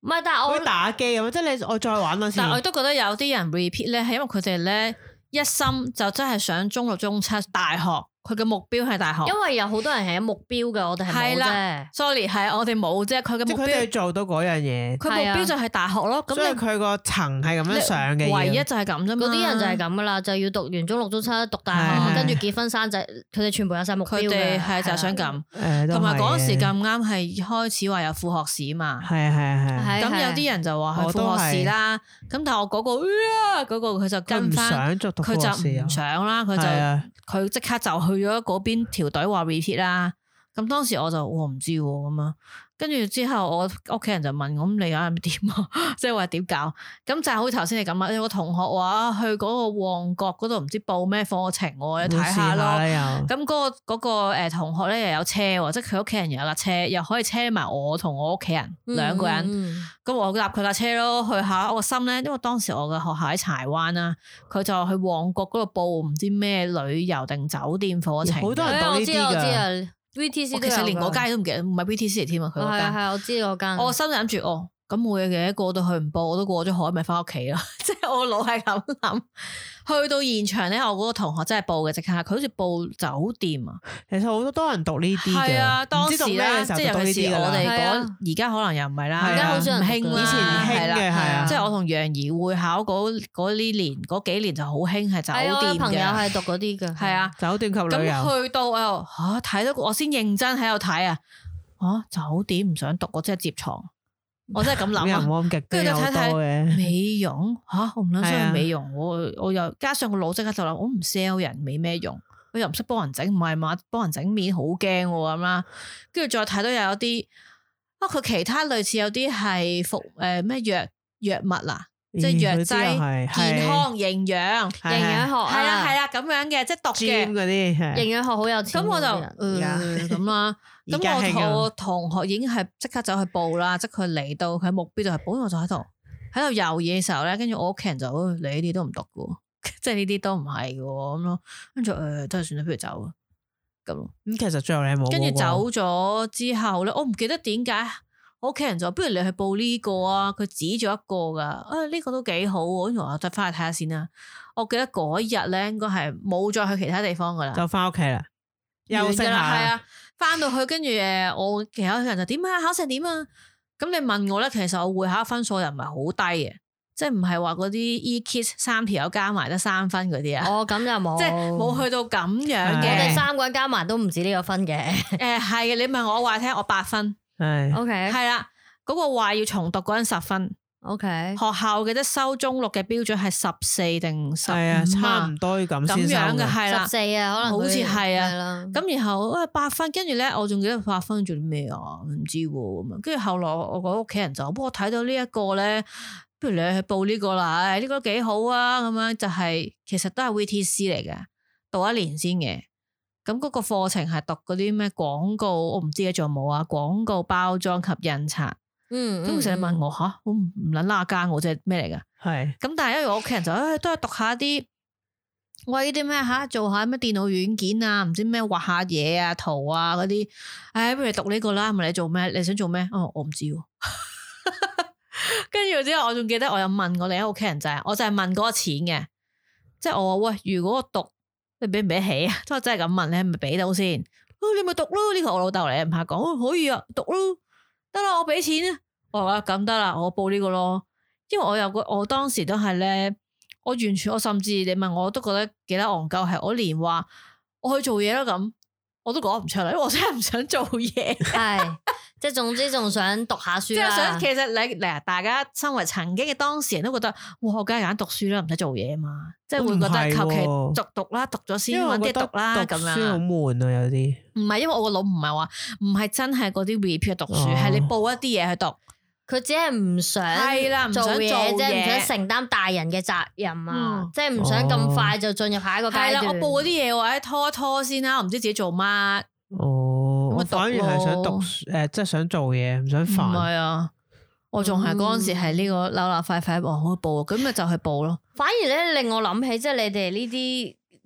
[SPEAKER 2] 唔係，但係我
[SPEAKER 3] 打機咁，即係你我再玩多次。
[SPEAKER 4] 但係我都覺得有啲人 repeat 咧，係因為佢哋咧一心就真係想中六中七大學。佢嘅目標係大學，
[SPEAKER 2] 因為有好多人係有目標嘅，我哋係冇啫。
[SPEAKER 4] Sorry， 係我哋冇啫。佢嘅目標，
[SPEAKER 3] 佢哋做到嗰樣嘢。
[SPEAKER 4] 佢目標就係大學咯。咁
[SPEAKER 3] 所以佢個層係咁樣上嘅。
[SPEAKER 4] 唯一就係咁啫嘛。
[SPEAKER 2] 嗰啲人就係咁噶啦，就要讀完中六中七讀大學，跟住結婚生仔，佢哋全部有晒目標嘅。佢哋係就係想咁。同埋嗰時咁啱係開始話有副學士嘛。係。咁有啲人就話係副學士啦。咁但係我嗰個佢就跟翻，佢就唔想啦。佢即刻就去咗嗰邊條隊話 repeat 啦，咁當時我就我唔知咁啊，跟住之後我屋企人就問我，咁你而家點啊？即係話點搞？咁就係好似頭先你咁啦，有個同學話去嗰個旺角嗰度唔知報咩課程，你睇下咯。咁嗰個同學咧又有車，即係佢屋企人又有架車，又可以車埋我同我屋企人兩個人。咁我搭佢架車咯，去下我個心咧，因為當時我嘅學校喺柴灣啦，佢就去旺角嗰度報唔知咩旅遊定酒店課程。好多人讀呢啲㗎。VTC 其實連嗰間都唔記得，唔係 VTC 嚟添啊！佢嗰間係我知嗰間。
[SPEAKER 4] 我心諗住咁冇嘢嘅，過到去唔報，我都過咗海，咪翻屋企咯。即係我腦係咁諗。去到現場咧，我嗰個同學真係報嘅，即刻佢好似報酒店啊。
[SPEAKER 3] 其實好多人讀呢啲嘅。係
[SPEAKER 4] 啊，當時咧，即係尤其是我哋而家可能又唔係啦，而家好少人興，以前興嘅係啊。即係我同楊怡會考嗰幾年就好興係酒店嘅。
[SPEAKER 2] 朋友係讀嗰啲嘅。
[SPEAKER 4] 係啊，
[SPEAKER 3] 酒店及旅遊。
[SPEAKER 4] 咁去到睇到我先認真喺度睇啊！酒店唔想讀，我真係接床。我真係咁諗啊，跟住就睇睇美容我唔諗想去美容，我又加上個腦即刻就諗，我唔 sell 人美咩用，我又唔識幫人整，唔係嘛，幫人整面好驚咁啦。跟住再睇到又有啲佢其他類似有啲係服咩藥物啊，即係藥劑、健康、營養學係啦咁樣嘅，即係讀嘅
[SPEAKER 3] 嗰啲
[SPEAKER 2] 營養學好有錢。
[SPEAKER 4] 咁我就咁啦。咁我同學已經係即刻走去報啦，即係佢嚟到佢目標就係報，我就喺度遊嘢嘅時候咧，跟住我屋企人就你呢啲都唔讀嘅，即係呢啲都唔係嘅咁咯。跟住都係算啦，不如走咁。
[SPEAKER 3] 咁其實最後你冇
[SPEAKER 4] 跟住走咗之後咧，我唔記得點解我屋企人就話不如你去報呢個啊，佢指咗一個噶，呢個都幾好，跟住我再翻去睇下先啦。我記得嗰日咧應該係冇再去其他地方噶啦，
[SPEAKER 3] 就翻屋企啦，休息下。
[SPEAKER 4] 係啊。翻到去跟住我其他人就點啊，考成點啊？咁你問我咧，其實我會考分數又唔係好低嘅，即係唔係話嗰啲 E-KISS 3條友加埋得3分嗰啲啊？
[SPEAKER 2] 咁就冇，
[SPEAKER 4] 即係冇去到咁樣嘅。
[SPEAKER 2] 我哋3個人加埋都唔止呢個分嘅。
[SPEAKER 4] 係嘅，你問我話聽，我8分。
[SPEAKER 3] 係。
[SPEAKER 2] OK。
[SPEAKER 4] 係啦，嗰個話要重讀嗰陣10分。
[SPEAKER 2] OK。
[SPEAKER 4] 學校記得收中六嘅標準係14定15
[SPEAKER 3] 啊，差唔多咁先收
[SPEAKER 4] 嘅，係啦
[SPEAKER 2] 14啊，可能
[SPEAKER 4] 好似係啊。咁然後8分，跟住咧我仲記得8分做啲咩啊？唔知咁啊。跟住後來我個屋企人就，不過我睇到呢一個咧，不如你去報呢個啦，呢個都幾好啊。咁樣就係其實都係 VTC 嚟嘅，讀1年先嘅。咁嗰個課程係讀嗰啲咩廣告，我唔知仲有冇啊？廣告包裝及印刷。咁成日問我我唔捻拉更，我即係咩嚟噶？係咁，但係因為我屋企人就都係讀下啲，喂呢啲咩做下咩電腦軟件啊，唔知咩畫下嘢啊圖啊嗰啲，不如你讀呢個啦。問你做咩？你想做咩？我唔知。跟住之後，我仲記得我有問我另一個屋企人就係，我就係問嗰個錢嘅，即係我話喂，如果我讀，你俾唔俾起啊？即係真係咁問，你係咪俾到先？你咪讀咯，呢個我老豆嚟，唔怕講，可以啊，讀咯。得啦，我俾錢啊！我話咁得啦，我報呢個咯。因為我當時都係咧，我完全我甚至你問我都覺得幾得戇鳩，係我連話我去做嘢啦咁，我都講唔出嚟，因為我真係唔想做嘢。
[SPEAKER 2] 係，即係總之仲想讀下書啦。
[SPEAKER 4] 即係想，其實你嗱，大家身為曾經嘅當事人都覺得，哇，我梗係揀讀書啦，唔使做嘢嘛。即係會覺得求其讀啦，讀咗先揾啲讀啦咁樣。
[SPEAKER 3] 書好悶啊，有啲。唔
[SPEAKER 4] 係，因為我個腦唔係話唔係真係嗰啲 repeat 讀書，係你報一啲嘢去讀。
[SPEAKER 2] 佢只係唔想做嘢啫，唔想承擔大人嘅責任啊，即係唔想咁快就進入下一個階段。係啦，我報嗰啲嘢或者拖一拖先啦，我唔知自己做乜。
[SPEAKER 3] 我反而係想讀即係想做嘢，唔想煩。
[SPEAKER 4] 唔係啊，我仲係嗰陣時係呢個扭扭快快，我報，咁咪就去報咯。
[SPEAKER 2] 反而咧令我諗起，即係你哋呢啲。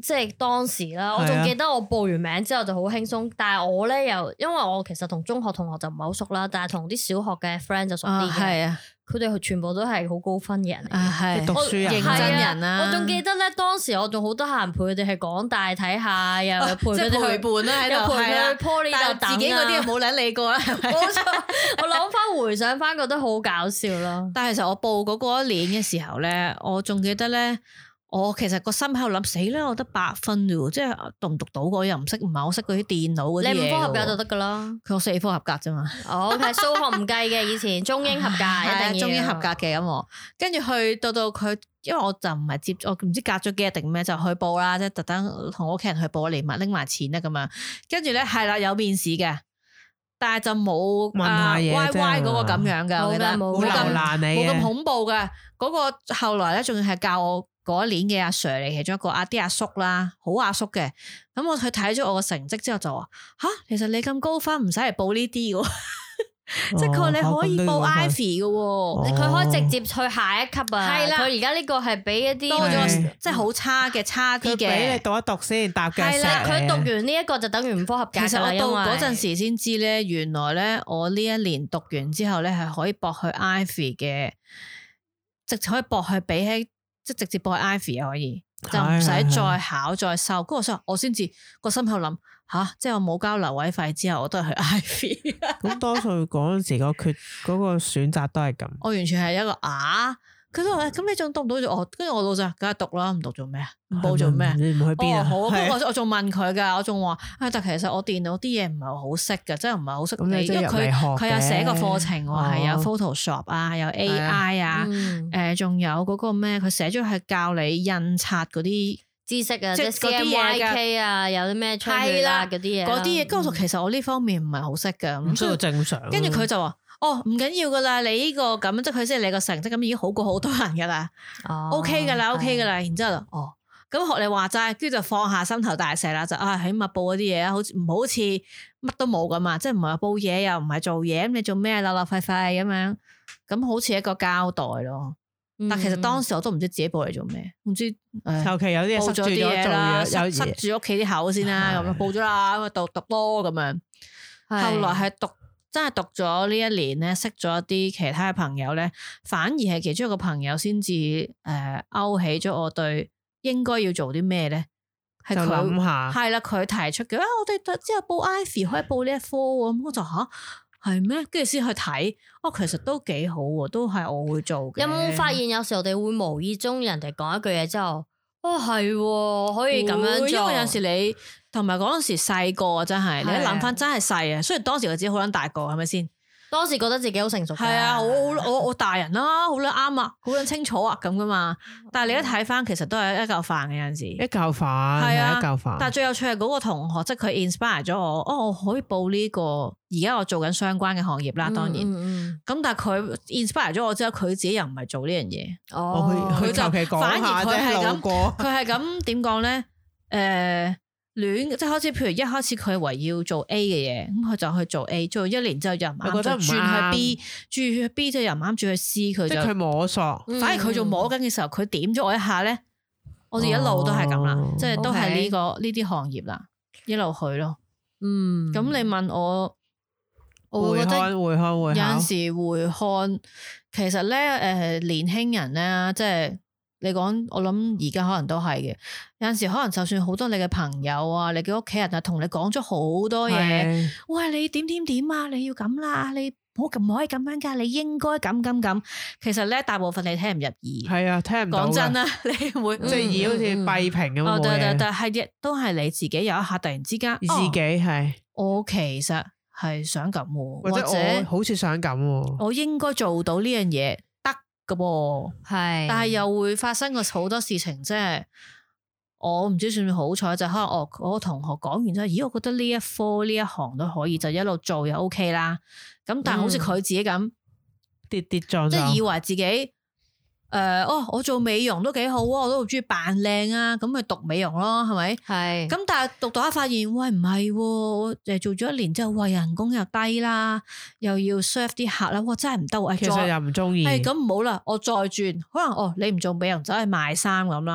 [SPEAKER 2] 即係當時啦，我仲記得我報完名之後就好輕鬆，但係我咧又因為我其實同中學同學就唔係好熟啦，但係同啲小學嘅 friend 就熟啲嘅。係啊，佢哋全部都係好高分嘅人嚟嘅，
[SPEAKER 3] 讀書人、
[SPEAKER 2] 認真人啦。我仲記得咧，當時我仲好得閒陪佢哋去港大睇下，又陪佢哋陪伴啦喺度，陪佢去 Poly 度等啊。自己嗰啲冇撚理過啦，係咪？冇錯，我諗翻回想翻，覺得好搞笑咯。
[SPEAKER 4] 但係其實我報嗰個一年嘅時候咧，我仲記得咧。我其實個心喺度諗死啦，我得8分啫喎，即係讀唔讀到嗰又唔識，唔係好識嗰啲電腦嗰啲嘢。
[SPEAKER 2] 你5科合格就得噶啦。
[SPEAKER 4] 佢我4科合格啫嘛。
[SPEAKER 2] 哦，係數學唔計嘅，以前中英合格一定要。
[SPEAKER 4] 中英合格嘅咁我，跟住去到佢，因為我就唔係我唔知隔咗幾日定咩，就去報啦，即係特登同屋企人去報，連埋拎埋錢啦咁樣。跟住咧係啦，有面試嘅，但係就冇
[SPEAKER 3] 問下嘢
[SPEAKER 4] Y 嗰個咁樣嘅，我記得冇咁恐怖嘅。嗰個後來咧，仲要係教我。嗰一年嘅阿 Sir 嚟，其中一個啲阿叔啦，好阿叔嘅。咁我佢睇咗我個成績之後就話：吓，其實你咁高分唔使嚟報呢啲嘅，即係佢你可以報 Ivy 嘅，
[SPEAKER 2] 佢可以直接去下一級啊。係啦，佢而家呢個係俾一啲
[SPEAKER 4] 多咗，即係好差嘅，差啲嘅。
[SPEAKER 3] 俾你讀一讀先，搭腳石。係啦，
[SPEAKER 2] 佢讀完呢一個就等於5科合格。
[SPEAKER 4] 其實我到嗰陣時先知咧，原來咧我呢一年讀完之後咧係可以駁去 Ivy 嘅，直可以駁去比起。即係直接報 Ivy 可以，就唔使再考再收。嗰個時候我先至個心喺度諗吓，即係我冇交留位費之後，我都係去 Ivy。
[SPEAKER 3] 咁多數嗰陣時嗰個選擇都係咁。
[SPEAKER 4] 我完全係一個佢都話咁你仲讀唔到就跟住我老實梗係讀啦，唔讀做咩啊？唔報做咩？
[SPEAKER 3] 你唔去邊啊？
[SPEAKER 4] 好，我仲問佢噶，我仲話但其實我電腦啲嘢唔係好識噶，真係唔係好識。因為佢有寫個課程，係有 Photoshop 啊，有 AI 啊，仲有嗰個咩？佢寫咗係教你印刷嗰啲
[SPEAKER 2] 知識啊，即係嗰啲嘢啊，有啲咩出嚟啦嗰啲嘢。
[SPEAKER 4] 嗰啲嘢，跟住其實我呢方面唔係好識噶，
[SPEAKER 3] 唔需要正常。
[SPEAKER 4] 跟住佢就話。唔緊要噶啦，你呢個咁即係佢即係你個成績咁已經好過好多人噶啦，OK 噶啦，OK 噶啦，然之後咁學你話齋，跟住就放下心頭大石啦，就起碼報嗰啲嘢啊，好似唔好似乜都冇咁啊，即係唔係話報嘢又唔係做嘢，咁你做咩流流費費咁樣，咁好似一個交代咯。但其實當時我都唔知自己報嚟做咩，唔知
[SPEAKER 3] 求其有啲嘢塞住咗做嘢，
[SPEAKER 4] 塞住屋企啲口先啦，咁報咗啦，咁讀咯咁樣，後來係讀。真係讀咗呢一年咧，識咗一啲其他嘅朋友咧，反而係其中一個朋友先至勾起咗我對應該要做啲咩咧，係佢諗下，係啦，佢提出嘅，我哋之後報 Ivy 可以報呢一科喎，咁我就係咩？跟住先去睇，其實都幾好喎，都係我會做嘅。
[SPEAKER 2] 有冇發現有時我哋會無意中人哋講一句嘢之後，係可以咁樣做，
[SPEAKER 4] 因為有時你。同埋嗰陣時細個真係，你一諗翻真係細啊！雖然當時我自己好撚大個，係咪先？
[SPEAKER 2] 當時覺得自己好成熟。
[SPEAKER 4] 係啊，我大人啦，好撚啱啊，好撚清楚啊咁噶嘛。但係你一睇翻，其實都係一嚿飯嘅有陣時。一
[SPEAKER 3] 嚿飯係啊，一嚿飯。
[SPEAKER 4] 但係最有趣係嗰個同學，即係佢 inspire 咗我。我可以報呢個，而家我做緊相關嘅行業啦。當然，咁但係佢 inspire 咗我之後，佢自己又唔係做呢樣嘢。
[SPEAKER 3] 佢就
[SPEAKER 4] 反而佢係咁，佢係咁點講咧？亂即係開始，譬如一開始佢為要做 A 嘅嘢，咁佢就去做 A，做1年之後又唔啱，就轉去 B， 轉去 B 就又唔啱，轉去 C， 佢就
[SPEAKER 3] 即係佢摸索。
[SPEAKER 4] 反而佢做摸緊嘅時候，佢點咗我一下咧，我哋一路都係咁啦，即係都係呢啲行業啦，一路去咯。咁你問我，我會覺得有陣時回看，其實咧年輕人咧，即係。你講，我諗而家可能都係嘅。有陣時可能就算好多你嘅朋友啊，你嘅屋企人啊，同你講咗好多嘢，喂，你點啊？你要咁啦，你唔可以咁樣噶，你應該咁。其實咧，大部分你聽唔入耳。係
[SPEAKER 3] 啊，聽唔到。
[SPEAKER 4] 講真啦，你會
[SPEAKER 3] 即係以好似閉屏咁樣嘅。
[SPEAKER 4] 但係都係你自己有一下突然之間，
[SPEAKER 3] 自己係
[SPEAKER 4] 我其實係想咁，
[SPEAKER 3] 或者我好似想咁，
[SPEAKER 4] 我應該做到呢樣嘢。嘅噃，係，但係又會發生過好多事情，即係我唔知算唔算好彩，就可能我嗰個同學講完之後，咦，我覺得呢一科呢一行都可以，就一路做又 OK 啦。咁但係好似佢自己咁
[SPEAKER 3] 跌撞，
[SPEAKER 4] 即係以為自己我做美容都幾好啊，我都好中意扮靚啊，咁咪讀美容咯，係咪？係。咁但係讀到一發現，喂唔係，我做咗1年之後，喂人工又低啦，又要 serve 啲客啦，哇真係唔得。
[SPEAKER 3] 其實又唔中意。
[SPEAKER 4] 係咁唔好啦，我再轉，可能你唔做美容，走去賣衫咁啦。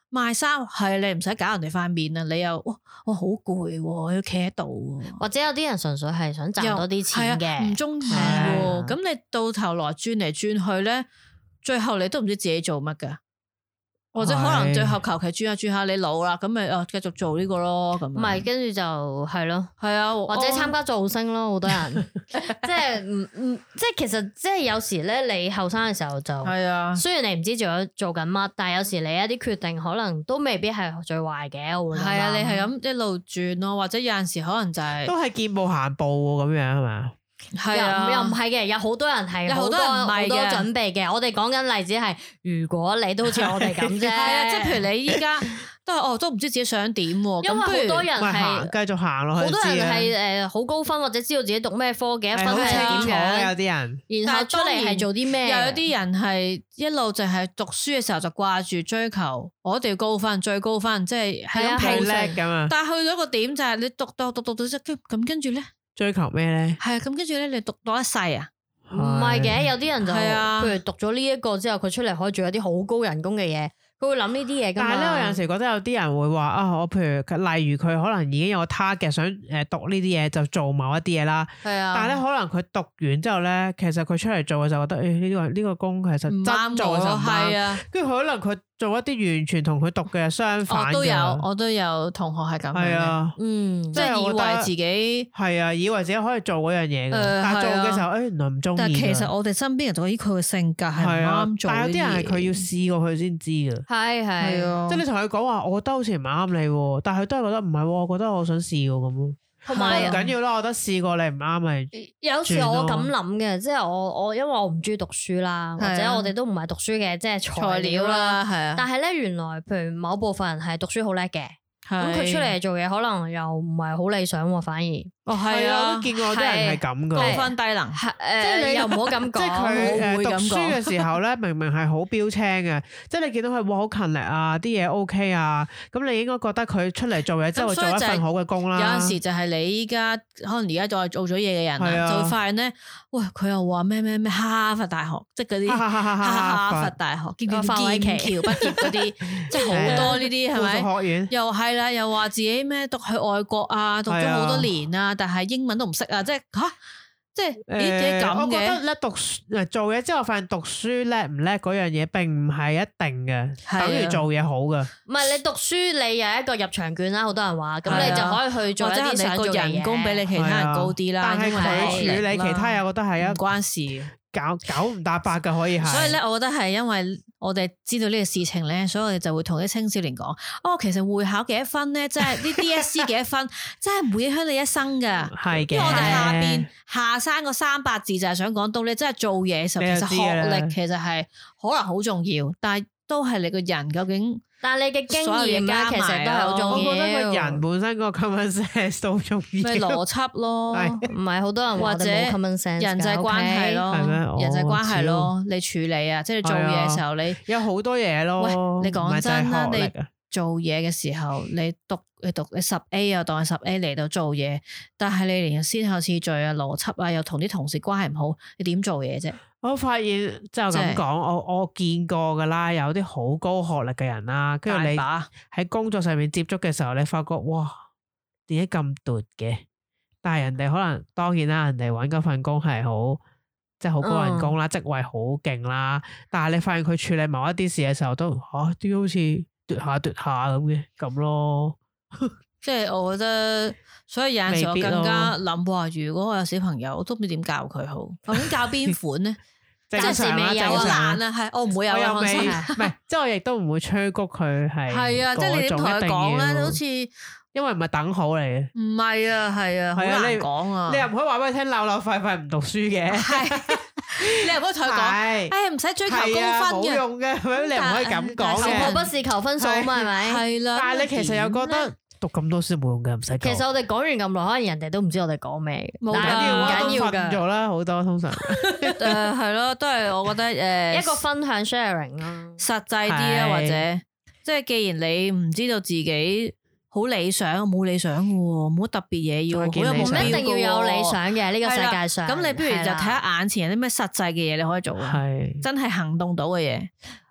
[SPEAKER 4] 賣衫係你唔使搞人哋塊面啊，你又我好攰，我要企喺度。或
[SPEAKER 2] 者有啲人純粹係想賺多啲錢嘅，
[SPEAKER 4] 唔中意喎。咁你到頭來轉嚟轉去咧，最後你都唔知自己做乜噶。或者可能最後求其轉下你老啦，咁咪繼續做呢個咯，咁。唔係，跟住就係咯，係啊，或者參加造星咯，好多人。即係即係其實即係有時咧，你後生嘅時候就係啊。雖然你唔知做緊乜，但係有時你一啲決定可能都未必係最壞嘅。我會係啊，你係咁一路轉咯，或者有陣時可能就係都係見步行步咁樣係嘛？係啊，又唔係嘅，有好多人係好多準備嘅。我哋講緊例子係，如果你都好似我哋咁啫，係啊，即係譬如你依家都唔知自己想點，因為好多人係繼續行落去，好多人係好高分或者知道自己讀咩科嘅，分係點樣，有啲人，然後出嚟係做啲咩，又有啲人係一路就係讀書嘅時候就掛住追求，我一定要高分，最高分，即係係咁叻咁啊！但係去到一個點就係你讀到咁跟住咧。追求咩咧？係啊，咁跟住咧，你讀多一世啊？唔係嘅，有啲人就譬如讀咗呢一個之後，佢出嚟可以做一啲好高人工嘅嘢，佢會諗呢啲嘢噶嘛。但係咧，我有陣時覺得有啲人會話啊，我譬如例如佢可能已經有個 target 想讀呢啲嘢，就做某一啲嘢啦。係啊。但係咧，可能佢讀完之後咧，其實佢出嚟做嘅時候覺得呢個工其實真做就唔啱。跟住可能佢做一啲完全同佢讀嘅相反嘅。我都有同學係咁樣嘅，即係以為自己係啊，以為自己可以做嗰樣嘢嘅，但係做嘅時候，原來唔中意。但係其實我哋身邊人就話，佢嘅性格係唔啱做。但係有啲人係佢要試過佢先知嘅。係啊，即係你同佢講話，我覺得好似唔啱你，但係佢都係覺得唔係，我覺得我想試喎咁咯。同埋唔緊要啦，我覺得試過你唔啱咪。有時我咁諗嘅，即係我因為我唔中意讀書啦，或者我哋都唔係讀書嘅，即係材料啦，係啊。但係咧，原來譬如某部分人係讀書好叻嘅，咁佢出嚟做嘢可能又唔係好理想喎，反而。係啊，我都見過啲人係咁噶，高分低能，即係你又唔好咁講，即係佢讀書嘅時候咧，明明係好標青嘅，即係你見到佢好勤力啊，啲嘢 OK 啊，咁你應該覺得佢出嚟做嘢之後會做一份好嘅工啦。有陣時就係你依家可能而家再做咗嘢嘅人啊，就會發現咧，喂，佢又話咩哈佛大學，即係嗰啲哈佛大學，劍橋畢業嗰啲，即係好多呢啲係咪？學院又係啦，又話自己咩讀去外國啊，讀咗好多年啊。但係英文都唔識啊！即係即係呢啲咁嘅。我覺得咧做嘢之後，發現讀書叻唔叻嗰樣嘢，並唔係一定嘅，等於做嘢好嘅。唔係你讀書，你有一個入場券啦，好多人話，咁你就可以去做一啲想做嘅嘢。或者你個人工比你其他人高啲啦。但係佢處理其他嘢，我覺得係唔關事。九唔搭八嘅可以係。所以咧，我覺得係因為我哋知道呢個事情咧，所以我哋就會同啲青少年講：其實會考幾多分咧，即係呢 DSE 幾多分，真係唔會影響你一生噶。係嘅。因為我哋下生個300字就係想講到你真係做嘢嘅時候，其實學歷其實係可能好重要，但係都係你個人究竟。但係你嘅經驗咧，其實都係好重要。我覺得個人本身個 common sense 都好重要。咪邏輯咯，唔係好多人或者人際關係咯，人際關係咯，你處理啊，即係你做嘢嘅時候，你有好多嘢咯。喂，你講真啦，你做嘢嘅時候，你讀你10A 又當係10A 嚟到做嘢，但係你連先後次序啊、邏輯啊，又同啲同事關係唔好，你點做嘢啫？我發現就咁講，我見過噶啦，有啲好高學歷嘅人啦，跟住你喺工作上面接觸嘅時候，你發覺哇，點解咁奪嘅？但係人哋可能當然啦，人哋搵嗰份工係好，即係好高人工啦，職位好勁啦，但係你發現佢處理某一啲事嘅時候都點解好似奪下咁嘅咁咯？即係我覺得，所以有陣時我更加諗話，如果我有小朋友，我都唔知點教佢好，究竟教邊款咧？即係未有難啊，係我唔會有放心，唔係，即係我亦都唔會催谷佢係。係啊，即係你點同佢講咧？好似因為唔係等好嚟嘅。唔係啊，係啊，好難講啊。你又唔可以話俾佢聽，漏漏費費唔讀書嘅。你又唔可以同佢講，唔使追求高分嘅，冇用嘅，係咪？你唔可以咁講嘅。求學不是求分數啊嘛，係咪？係啦。但係你其實又覺得。讀咁多書冇用嘅，唔使講。其實我哋講完咁耐，可能人哋都唔知我哋講咩。冇緊要㗎，做啦好多通常。係咯，都係我覺得一個分享 sharing 咯，實際啲啊，或者即係既然你唔知道自己好理想，冇理想嘅喎，冇特別嘢要好有目標嘅喎，一定要有理想嘅呢個世界上。咁你不如就睇下眼前有啲咩實際嘅嘢你可以做，係真係行動到嘅嘢。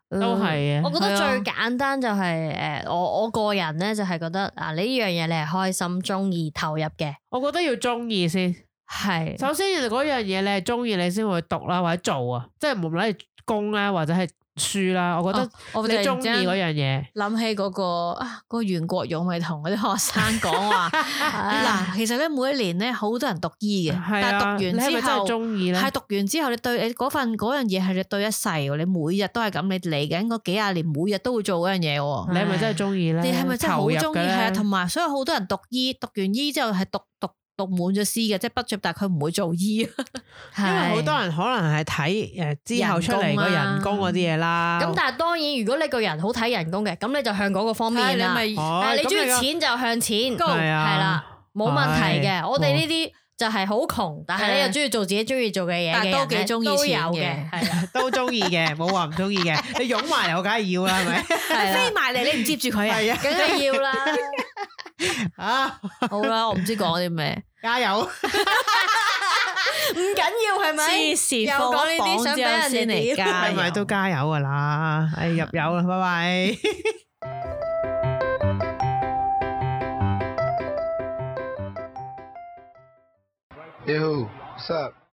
[SPEAKER 3] 都係嘅。
[SPEAKER 2] 我覺得最簡單就係我個人咧就係覺得啊，你呢樣嘢你係開心、中意、投入嘅。
[SPEAKER 3] 我覺得要中意先係。首先，嗰樣嘢你係中意，你先會讀啦，或者做啊，即係唔攞嚟供啦，或者係書啦。我覺得你中意嗰樣嘢。
[SPEAKER 4] 諗起嗰個袁國勇咪同嗰啲學生講話嗱，其實咧每一年咧好多人讀醫嘅，但係讀完之後，你係咪真係中意咧？係讀完之後，你對你嗰樣嘢係你對一世，你每日都係咁，你嚟緊嗰幾廿年，每日都會做嗰樣嘢。
[SPEAKER 3] 你係咪真係中意咧？
[SPEAKER 4] 你係咪真係好中意？係啊，同埋所以好多人讀醫，讀完醫之後係讀滿咗師嘅，即係畢業，但係佢唔會做醫，
[SPEAKER 3] 因為好多人可能係睇之後出嚟個人工嗰啲嘢啦。
[SPEAKER 2] 咁但係當然，如果你個人好睇人工嘅，咁你就向嗰個方面啦。你中意錢就向錢，係啦，冇問題嘅。我哋呢啲就係好窮，但係你又中意做自己中意做嘅嘢，但係都幾中意錢嘅，係啊，
[SPEAKER 3] 都中意嘅，冇話唔中意嘅。你擁埋嚟，我梗係要啦，係咪？
[SPEAKER 4] 飛埋嚟，你唔接住佢啊？
[SPEAKER 2] 梗係要啦。
[SPEAKER 3] 啊，
[SPEAKER 4] 好啦，我唔知講啲咩，
[SPEAKER 3] 加油，
[SPEAKER 2] 唔緊要係咪？
[SPEAKER 4] 又講呢啲想俾人哋嚟加油，
[SPEAKER 3] 係咪都加油噶啦？入油啦，拜拜。
[SPEAKER 5] Yo, what's up?